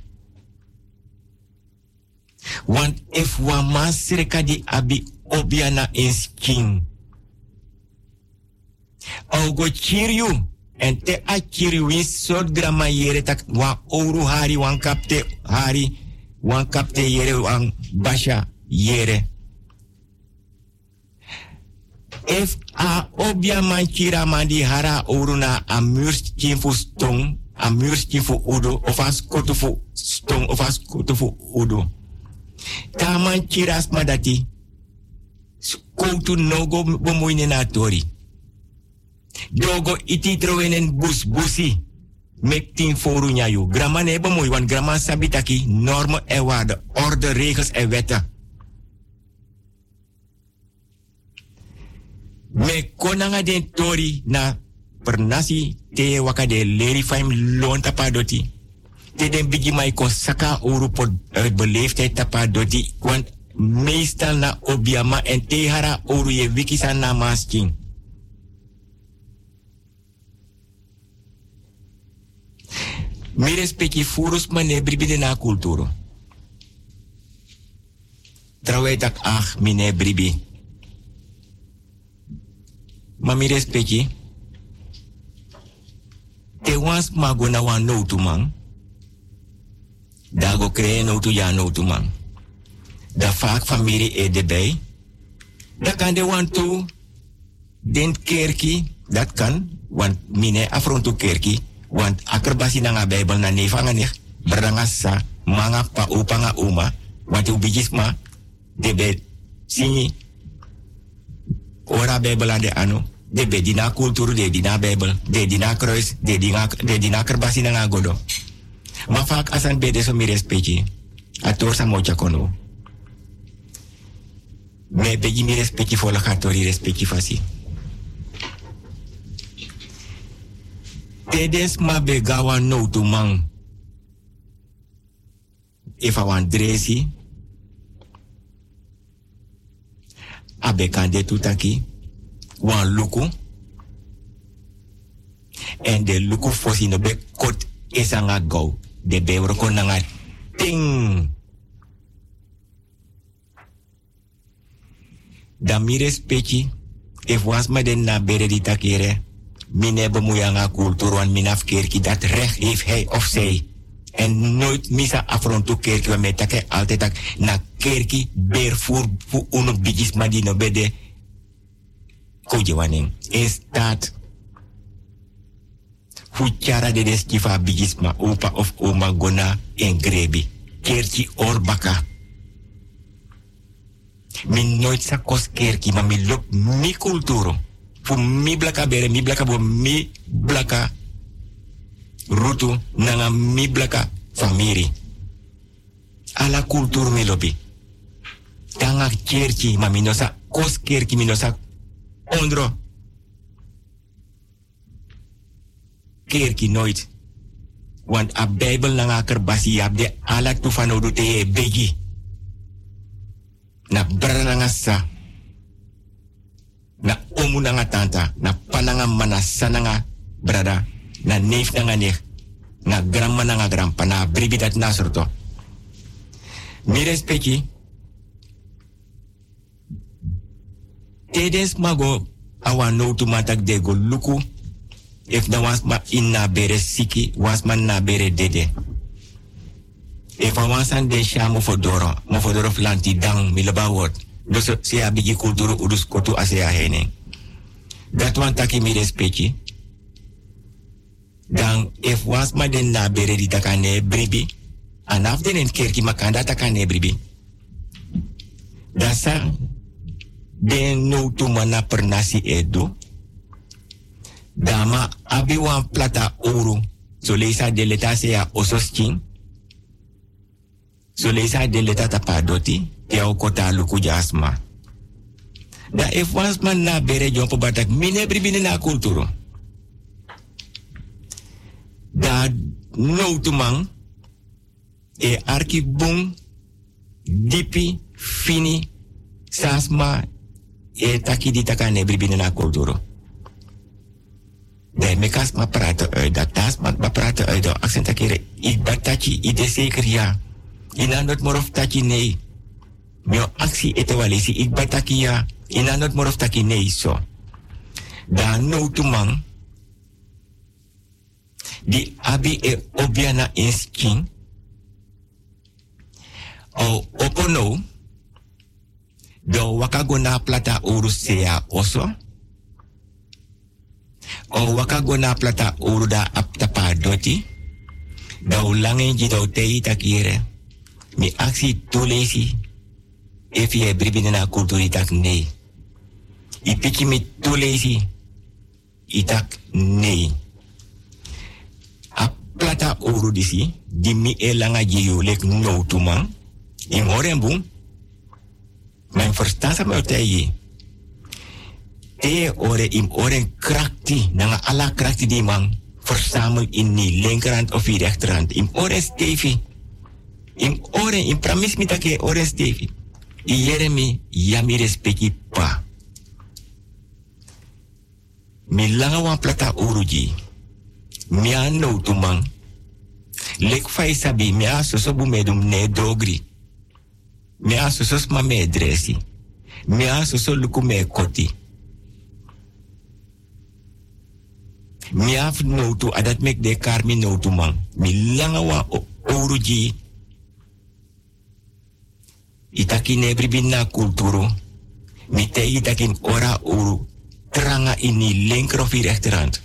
Want if wan man sireka di abi obia na king. Augo chiriu. En te a chiriu is soort grama yere tak wan ouro hari wan kapte hari. Wan kapte yere wan basha yere. If a obia man chira man di hara ouro na a muurtje fu stong. A muurtje fu udo. Of a skotu fu stong. Of a skotu fu udo. Ta man chiras madati. Skotu nogo bemoeine na tori. Dogo iti trowenen bus busi. Mektin foru nyayu. Grama neba mooi, want grama sabitaki normen en waarden, orde, regels en wetten. Me konanga den tori na pernasi te wakade leri faim loon tapadoti. Te den bigi mai kon saka oru pot beleefdheid tapadoti. Want meestal na obiama en te hara oru ye wikisa na masking. Mi respecti furus mane bribi na kulturo. Trawai tak mine bribi. Ma mi respecti. Te wans mago na wan no tu man. Dago kree no tu ya no tu man. Da vaak familie e de bij. Da kan de wan tu den kerki. Dat kan. Want mine afrontu kerki. Want akerbasi na nga Bijbel na neva nga nih. Berangasa manga pa upa nga uma. Want ubijisma. Debe sini. Ora Bijbel aan de ano. Debe dina kulturu de dina Bijbel. De dina kruis. De dina kerbasi na nga godo. Ma vaak asan bede so mi respecti. Ator sa mocha kono. Me begi mi respecti fola katori respecti fasi. Tedes ma begawa no tu man. If I want dresi. Abe kande tutaki. Wan luku. En de luku fosi no be kot esanga go. De be roko nanga ting. Da mi respecti. If was ma den na bere di takere. Mine bemoeianga cultuur, want minaf kerkie dat recht heeft hij of zij. En nooit misa afrontu kerkie, want met take altijd tak na kerkie beervoer voor uno bijis maar die no bede koje waning. In staat fuchara de deskifa bijis ma opa of oma gona en grebi. Kerkie orbaka. Min nooit sa kos kerkie, maar mi lop mi cultuur. Fu mi blaka bere, mi blaka bo mi blaka rutu, nanga mi blaka famiri. Ala kultur mi lobi. Tanga kerki, ma minosa kos kerki, minosa ondro. Kerki nooit. Want a Bijbel nanga kerbasi abde ala tufano do te begi. Na brana nga sa. na omu nanga tanta, na pananga mana sananga brada, na neef nanga neef, na grandma nanga grandpa, na bribi dat nasorto. Mi respecti, tedes mago awa no tu matak de go luku, if na was ma in na bere siki, was man na bere dede. If I was an de sha mofodoro flanti dang milaba word. Dus se a bigi kulturu udus kotu ase a hene. Dat wan taki mi respecti. Dan if was ma den na bere di takane bribi, anaf den en kerki makanda takane bribi. Dasa den no tu mana pernasi edo. Dama abi wan plata uru. So leisa de leta se a ososking. So leisa de leta tapadoti. Tia kota luku jasma. Da if was man na bere jompo batak mine bribine na kulturo. Da no tumang e arki bung dipi fini sasma e taki di takane bribine na kulturo. Da mekas ma praten uit dat tas ma praten uit dat accent akere ik batachi ide zeker ja. Inandot morof tachi nee. Mio actie etewalisi ik bataki ya inanot morof taki nee so. Da no tumang di abi e obiana insking o opono do wakagona plata urusea oso o wakagona plata uruda aptapa doti da ulangen jito tei takire mi actie tulesi if je bribine na kulturi tak nee. I piki mi tulesi itak nee. A plata oru disi di mi elanga jeyo lek no tumang. In orenboom. Mijn verstaan sa me otayi. Te ore im oren krakti nanga ala krakti di man verzamel in ni linkerhand of die rechterhand. Im oren stevi. Im oren im pramis mi take oren stevi. Ieremi yami respecti pa. Mi langa wan plata uruji. Mi no tumang. Lek fai sabi mi a soso bumedum ne dogri. Mi a soso ma me dresi. Mi a soso luku me koti. Mi a no tu adat mek de kar mi no tumang. Mi langa wan uruji. Itaki nebribin na kulturo. Mite itakin ora uru. Tranga ini linker of rechterhand.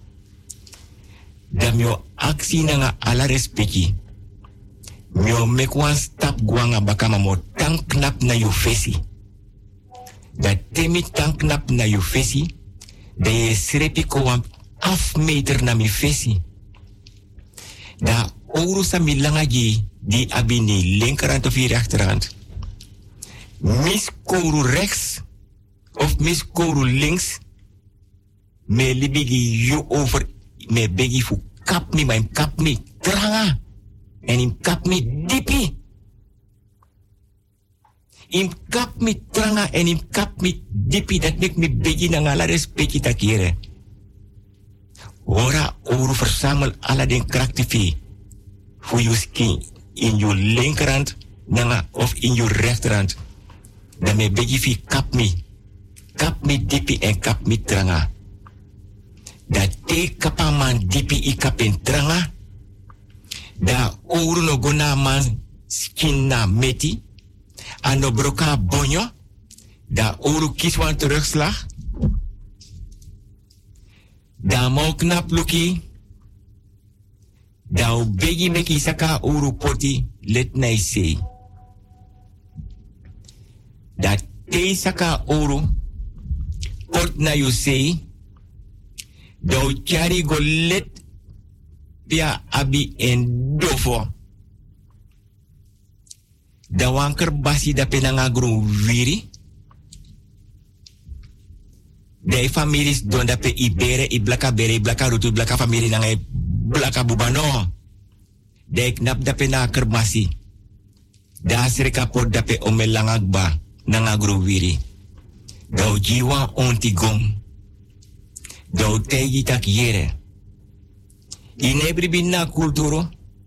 Da mio aksi nanga ala respecti. Mio mek wan stap guanga bakama mo tang knap na yu fesi. Da temi tang knap na yu fesi. Da ye srepi ko wan afmeter na mi fesi. Da uru sa mi langaji di abini linkerhand of rechterhand. Miskoru rechts of miskoru links. Me libigi you over me begi fu kap mi, maar im kap mi tranga. En im kap mi dipi. Im kap mi tranga en im kap mi dipi. Dat mek mi begi na ngala respecti takire. Ora oru verzamel ala den kraktifi. Fu you skin in your linkerhand nanga of in your rechterhand. Dan me begi fi kap mi dipi en kap mi tranga. Da te kapa man dipi I kap en tranga. Da ouro no gona man skin na meti. Ano broka bonyo. Da ouro kiswan terugslag. Da mau knap luki. Da begi meki saka ouro poti let nai sei. Da te saka ouro pot na you sei. Do chari go let pia abi en dofo. Da wanker basi da penanga gru viri. De families don da pe ibere, iblaka bere, iblaka rutu, iblaka family nanga iblaka bubano. De knap da pe na kerbasi. Da serika pot da pe omelangagba nanga gru viri. Dau jiwa ontigong. Dau tegi tak yere. Inebri binna kulturo?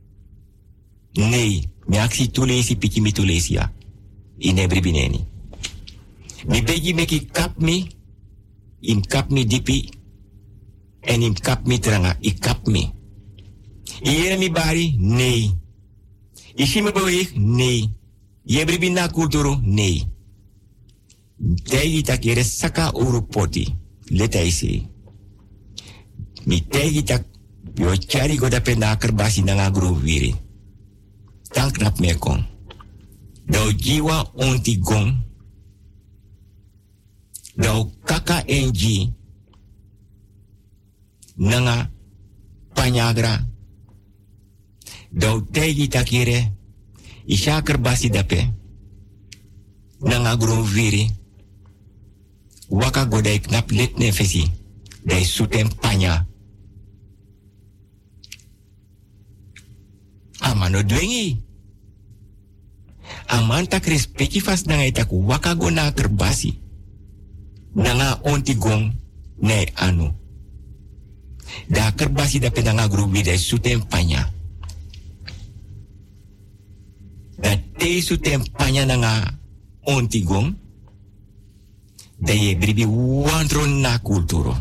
Nee, mi aksi tulesi piki mi tulesia. Inebri bineni. Mi begi meki kap mi, im kap mi dipi, en im kap mi tranga, i kap mi. Iere mi bari? Nee. Ishi me beweeg? Nee. Yebri binna kulturo? Nee. Tegi tak yere saka uru poti. Leta isi. Mi tegi tak yo chari goda pena kerbasi nanga gru wiri. Tan knap me kon. Dau jiwa onti gong. Dau kaka enji. Nanga panyagra. Dau tegi takire. Isha kerbasi dape. Nanga gru wiri. Waka goda knap let nefesi. Dai sutem panya. Amano dwengi. Aman tak respecti fas nanga itaku waka go na kerbasi. Nanga onti gong ne anu. Da kerbasi dape nanga grubi dai sutem panya. Da te sutem panya nanga onti gong. Da ye bribi wandro na kulturo.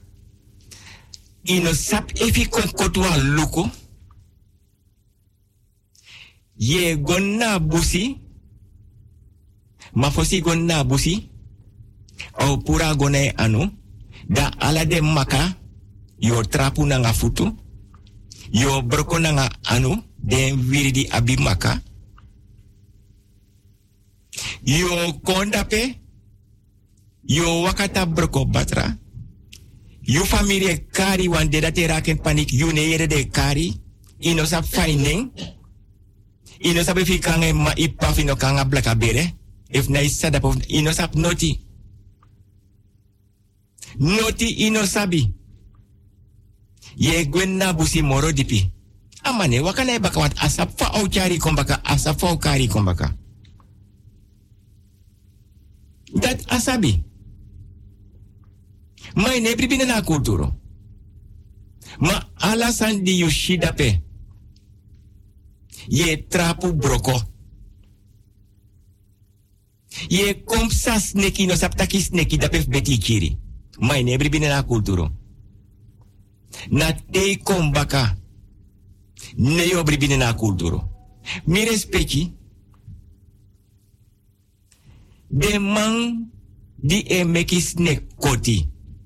Ino sap efi kon kotwa luko. Ye gonna busi. Mafosi gonna busi. O pura gone anu. Da ala de maka. Yo trapu nanga futu. Yo broko nanga anu. Den wiridi abi maka. Yo kondape. Yo wakata broko batra. Yo familie kari wan de dat raken panik. Yo ne yere de kari. Ino sap finding. Ino sabi fi kange ma ipa fino kanga blaka bere. If na isada po ino sap noti. Noti ino sabi. Ye gwen na busi moro dipi. Amane wakana baka wat asap fa au chari kombaka asap fa au kari kombaka. Dat asabi. Ma inebri bina na kulturo. Ma alasan di yushida pe. Ye trapu broko. Ye komsa sneki no saptaki sneki dapef beti kiri. Ma inebri bina na kulturo. Na te kombaka. Ne yo bribine na kulturo. Mi respecti. De man di e meki snek koti.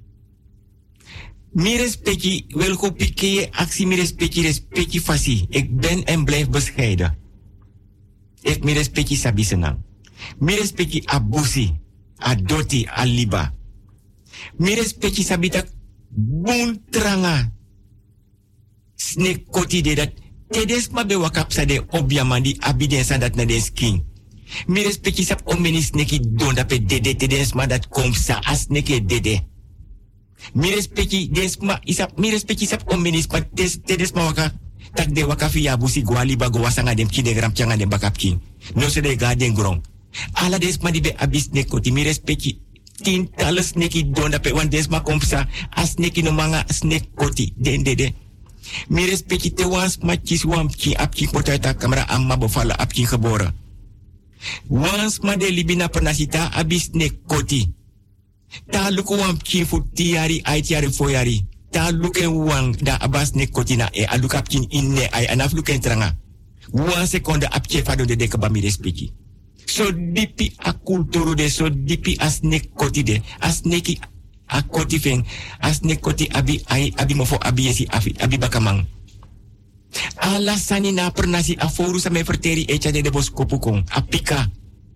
Mi respecti wel go pike actie mi respecti fasi. Ik ben en blijf bescheiden. Ik mi respecti sabi senang. Mi respecti abusi, adoti, aliba. Mi respecti sabi tak bun tranga. Snek koti de dat. Tedes ma be wakap sa de obiamandi abiden sa dat na den skin. Mi respecti sap omeni sneki don dape dede tedes ma dat kom sa as sneke dede. Mi respecti desma isap mi respecti sap omeni spa tedes ma waka tak de waka fi abusi gwali ba go wasanga dem kide gram changa dem bakap king. No se de garden grong. Ala desma di be abis snek koti mi respecti tientallen sneki don dape wan desma kom sa as sneki no manga snek koti den dede. Mi respecti te wans matchis wamki apki potata kamera amma bevallen apki geboren. Wans ma de libina pernasita abis ne koti. Ta luku wamki fu tiari aitiari foyari. Ta luken wang da abas ne koti na e alukapkin inne ay anaf luken tranga. Wan seconde apke fado de dekaba mi respecti. So dipi a kulturu de so dipi as ne koti de. As neki a koti feng, as ne koti abi mofo abi yesi abi bakamang. Alasani na pernasi aforu sa me verteri echa de bos kopukong, apika.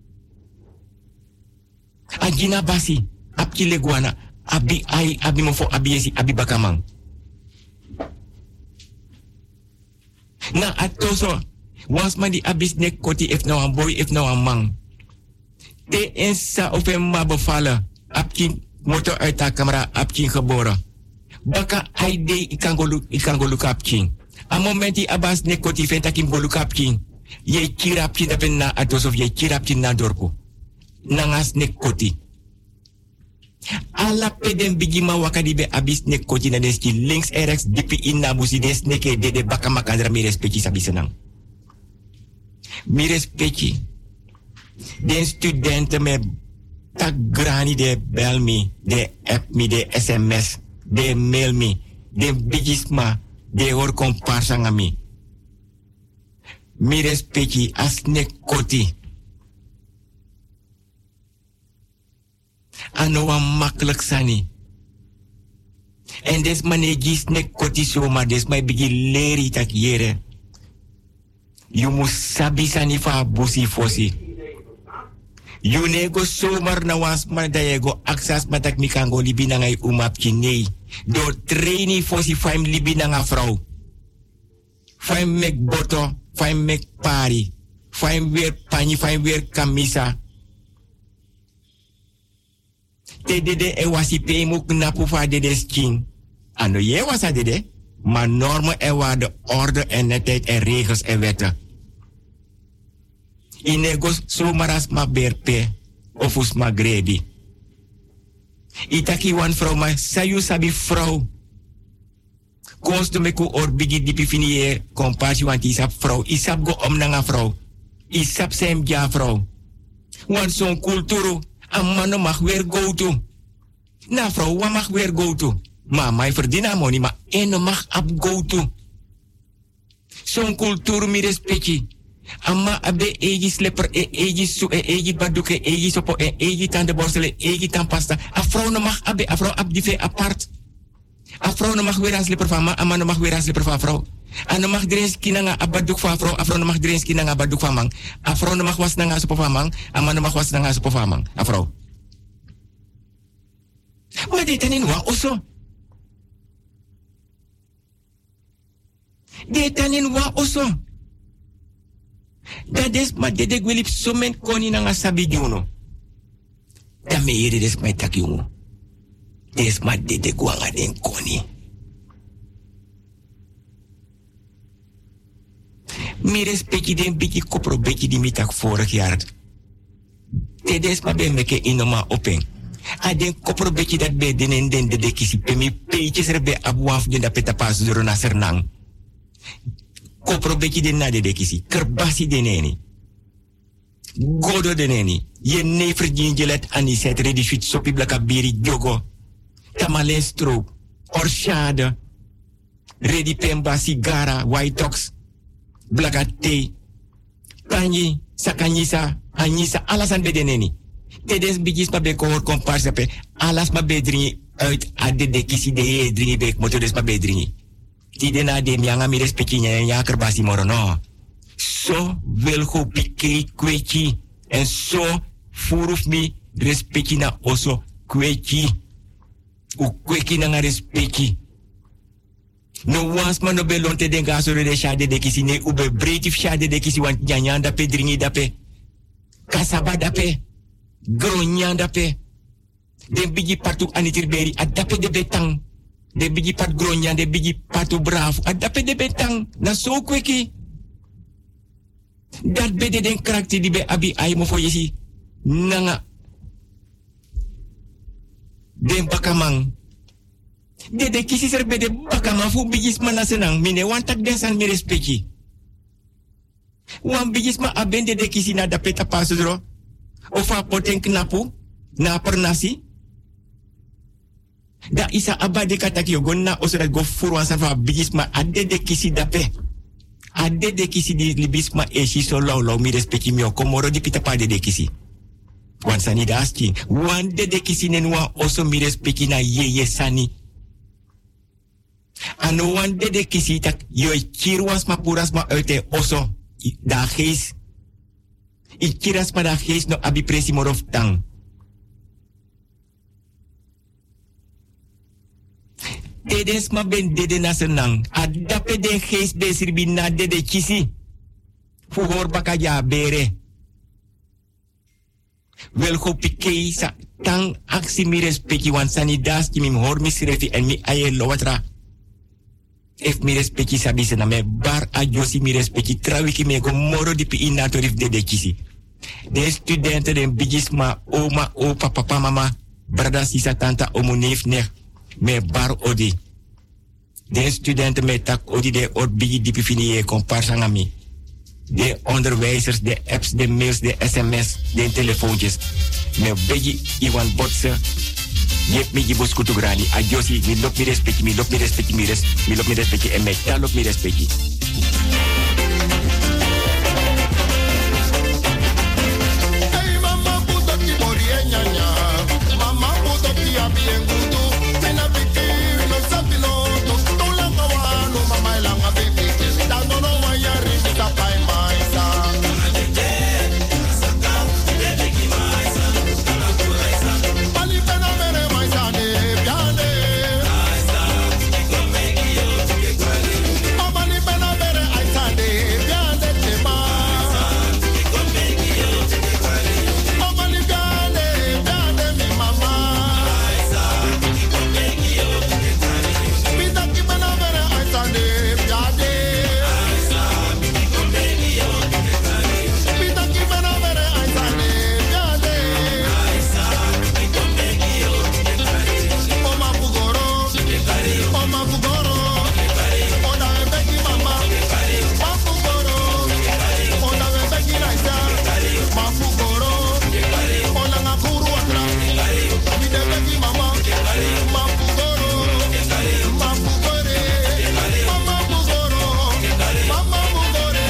Agina basi, apki leguana, abi mofo abi yesi abi bakamang. Na atoso, was man di abis ne koti if nou een boy if nou een man. Te ensa of hem ma bevallen, apki motor uit haar camera apkin geboren. Baka aide ikangolu kapkin. A momenti abas ne koti ventakin bolu kapkin. Ye kirapkin dapen na atos of ye kirapkin na dorpo. Nangas ne koti. Alla peden bigima wakadi be abis ne koti na deski links en rechts dipi in na busi des neke de baka makandra mi respecti sabi senang. Mi respecti. Den studenten me tak grani de bel mi, de app mi, de SMS, de mail mi, de bigisma, de hor komparsa nga mi. Mi respecti as ne koti. Ano wa makkelijk sani. En des manegis ne koti soma des mai bigi leri tak yere. You must sabi sani fa busi fosi. You nego somar na was man da yego aksas matak mikango libi na ngay umap kinei. Do traini fosi faim libi na nga vrouw. Faim mek boto, faim mek pari. Faim weer pani, faim weer kamisa. Dede e wasi pe mu knapu fa dede skin. Ano je wasa dede, maar normen en waarden, orde en netheid en regels en wetten. Inegos somaras ma berpe, of us ma grebi. Itaki wan vrouw ma sayu sabi vrouw. Konst me ku or bigi dipi finier, compassie want isap vrouw, isap go om nanga vrouw. Isap sem ja vrouw. Want zo'n kulturu, een man mag weer go to. Na vrouw, wat mag weer go to? Maar mij verdient money, maar en mag ab go to. Zo'n cultuur mi respecti. Amma abe egi slipper, egi su, egi baduke, egi sopo, egi tande borstelen, egi tandpasta. A vrouw no mag abe, a vrouw ab die ve apart. A vrouw no mag weer een slipper van man, a man no mag weer een slipper van vrouw. A no mag drens kinanga abaduk van vrouw, a vrouw no mag drens kinanga abaduk van man. A vrouw no mag was nanga sopo van man, a man no mag was nanga sopo van man. A vrouw. Maar dit en in wa oso. Dit en in wa oso. Dat is maar dit ik wil op zo'n moment koni nanga sabi juno. Dat me hier is mijn tak jongen. Dit is maar dit ik wanga den koni. Mi respecti den biki kopro beki di mi tak vorig jaar. Dit is maar ben meke inoma open. A den kopro beki dat be den en den de kisi pe mi peetjes er be abwaf den da peta pas duro na sernang. Kopro beki den na de kisi. Kerbasi den eni. Godo den eni. Je never jingelet ani set redi fit sopi blaka biri jogo. Tamalen stroop. Orshade. Redi pemba sigara. White tox. Blaka thee. Kanyi. Sakanyisa. Anyisa. Alas an be den eni. Tedes bigis ma be kohor komparsa pe. Alas ma be dringi uit ade de kisi de ye dringi be. Motodes ma be dringi. Tide na de mianga mi respecti nya kerbasi moro no. So wil go pike kweki. En so furuf mi respecti na oso kweki. U kweki na nga respecti. No wans man no belonte den gaso de shade de kisi ne ube bretif shade de kisi want nyanya da pe dringi da pe. Kasaba da pe. Gronya da pe. Den bigi patu anitirberi adape de betang. De bigi pat gronya, de bigi patu bravo. Adape de betang. Na so kweki. Dat bede den karakter die be abi aimo fo yesi. Nanga. Den bakamang. De kisi ser bede bakamang fu bigis mana senang. Mine wantak desan mi respecti. Wan bigis ma abende de kisi na da peta pasudro. Of a poten knapu. Na pernasi. Da isa abade kataki yogon na osora go furwan safa bigisma ade de kisi dape. Ade de kisi di libisma eshi so law mi respecti mio komoro di pita pa de kisi. Wan sani da aski. Wan de kisi nenwa oso mi respecti na ye sani. Ano wan de kisi tak yoi kirwas ma puras ma uit oso. Da gees. I kiras ma da gees no abi presi morof tang. Dedes ma ben dede na senang. Adape de geest besir bina dede kisi. Fuhor bakaja bere. Wel go pikei sa tang aksi mi respecti wan sanidas ki mi hor mi srefi en mi aye lowatra. Ef mi respecti sabi se na me bar a josi mi respecti trawi ki me go moro di pi inatorif dede kisi. De studenten den bigisma oma opa papa mama Brada sisa tanta omuneef nek. Me bar odi. De studenten met tak odi de ot bigi dipi fini comparsangami. De onderwijzers, de apps, de mails, de sms, de telefoontjes. Me bigi iwan botse. Yep mi gibos kutugrani. Adjosi, mi lop mi respecti, mi lop mi respecti, mi lop mi respecti. En me ta lop mi respecti. Hey mama puto ki bori nyanya. Mama puto ki abien gudu. Pena piti no sapino. Tula kawano mama elanga baby. Dano no wayari mita pai maisa. Pali pena mere maisa ne piane. Pali pena mere aisa ne piane tema. Pali piane piane mi mama. Pita ki pena mere aisa ne piane. Pita ki pena mere aisa ne piane. Oma Fugoro, Oma Fugoro, Oda Beki Mama, Ma Fugoro, Oda Beki Raisa, Ma Fugoro, Oda Ngakuru Atra, Ide Beki Mama, Ma Fugoro, Ma Fugore, Mama Fugoro, Mama Fugore,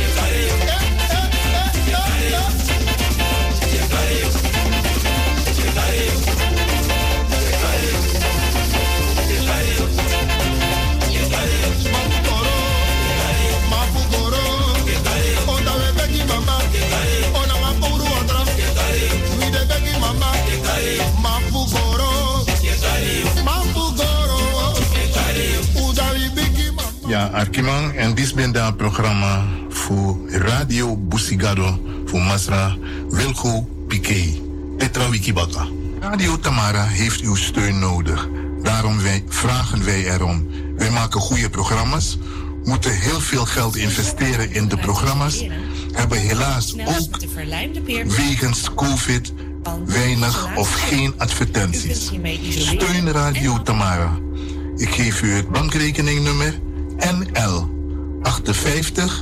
Ja, Arkimang, en dit is een programma voor Radio Busigado, voor Masra Wilco Piqué, Tetra Wikibaka. Radio Tamara heeft uw steun nodig. Daarom vragen wij erom. Wij maken goede programma's, moeten heel veel geld investeren in de programma's, hebben helaas ook wegens COVID weinig of geen advertenties. Steun Radio Tamara. Ik geef u het bankrekeningnummer NL 58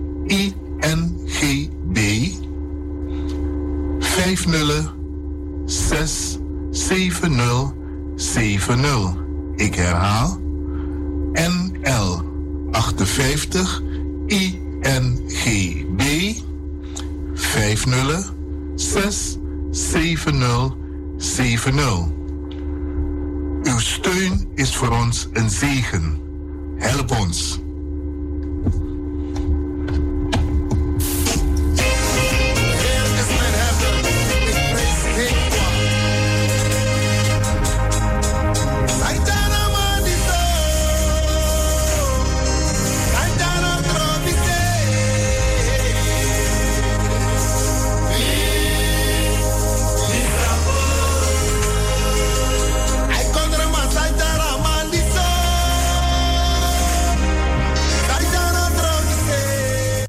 INGB 506070. Ik herhaal NL 58 INGB 506070. Uw steun is voor ons een zegen. Help ons.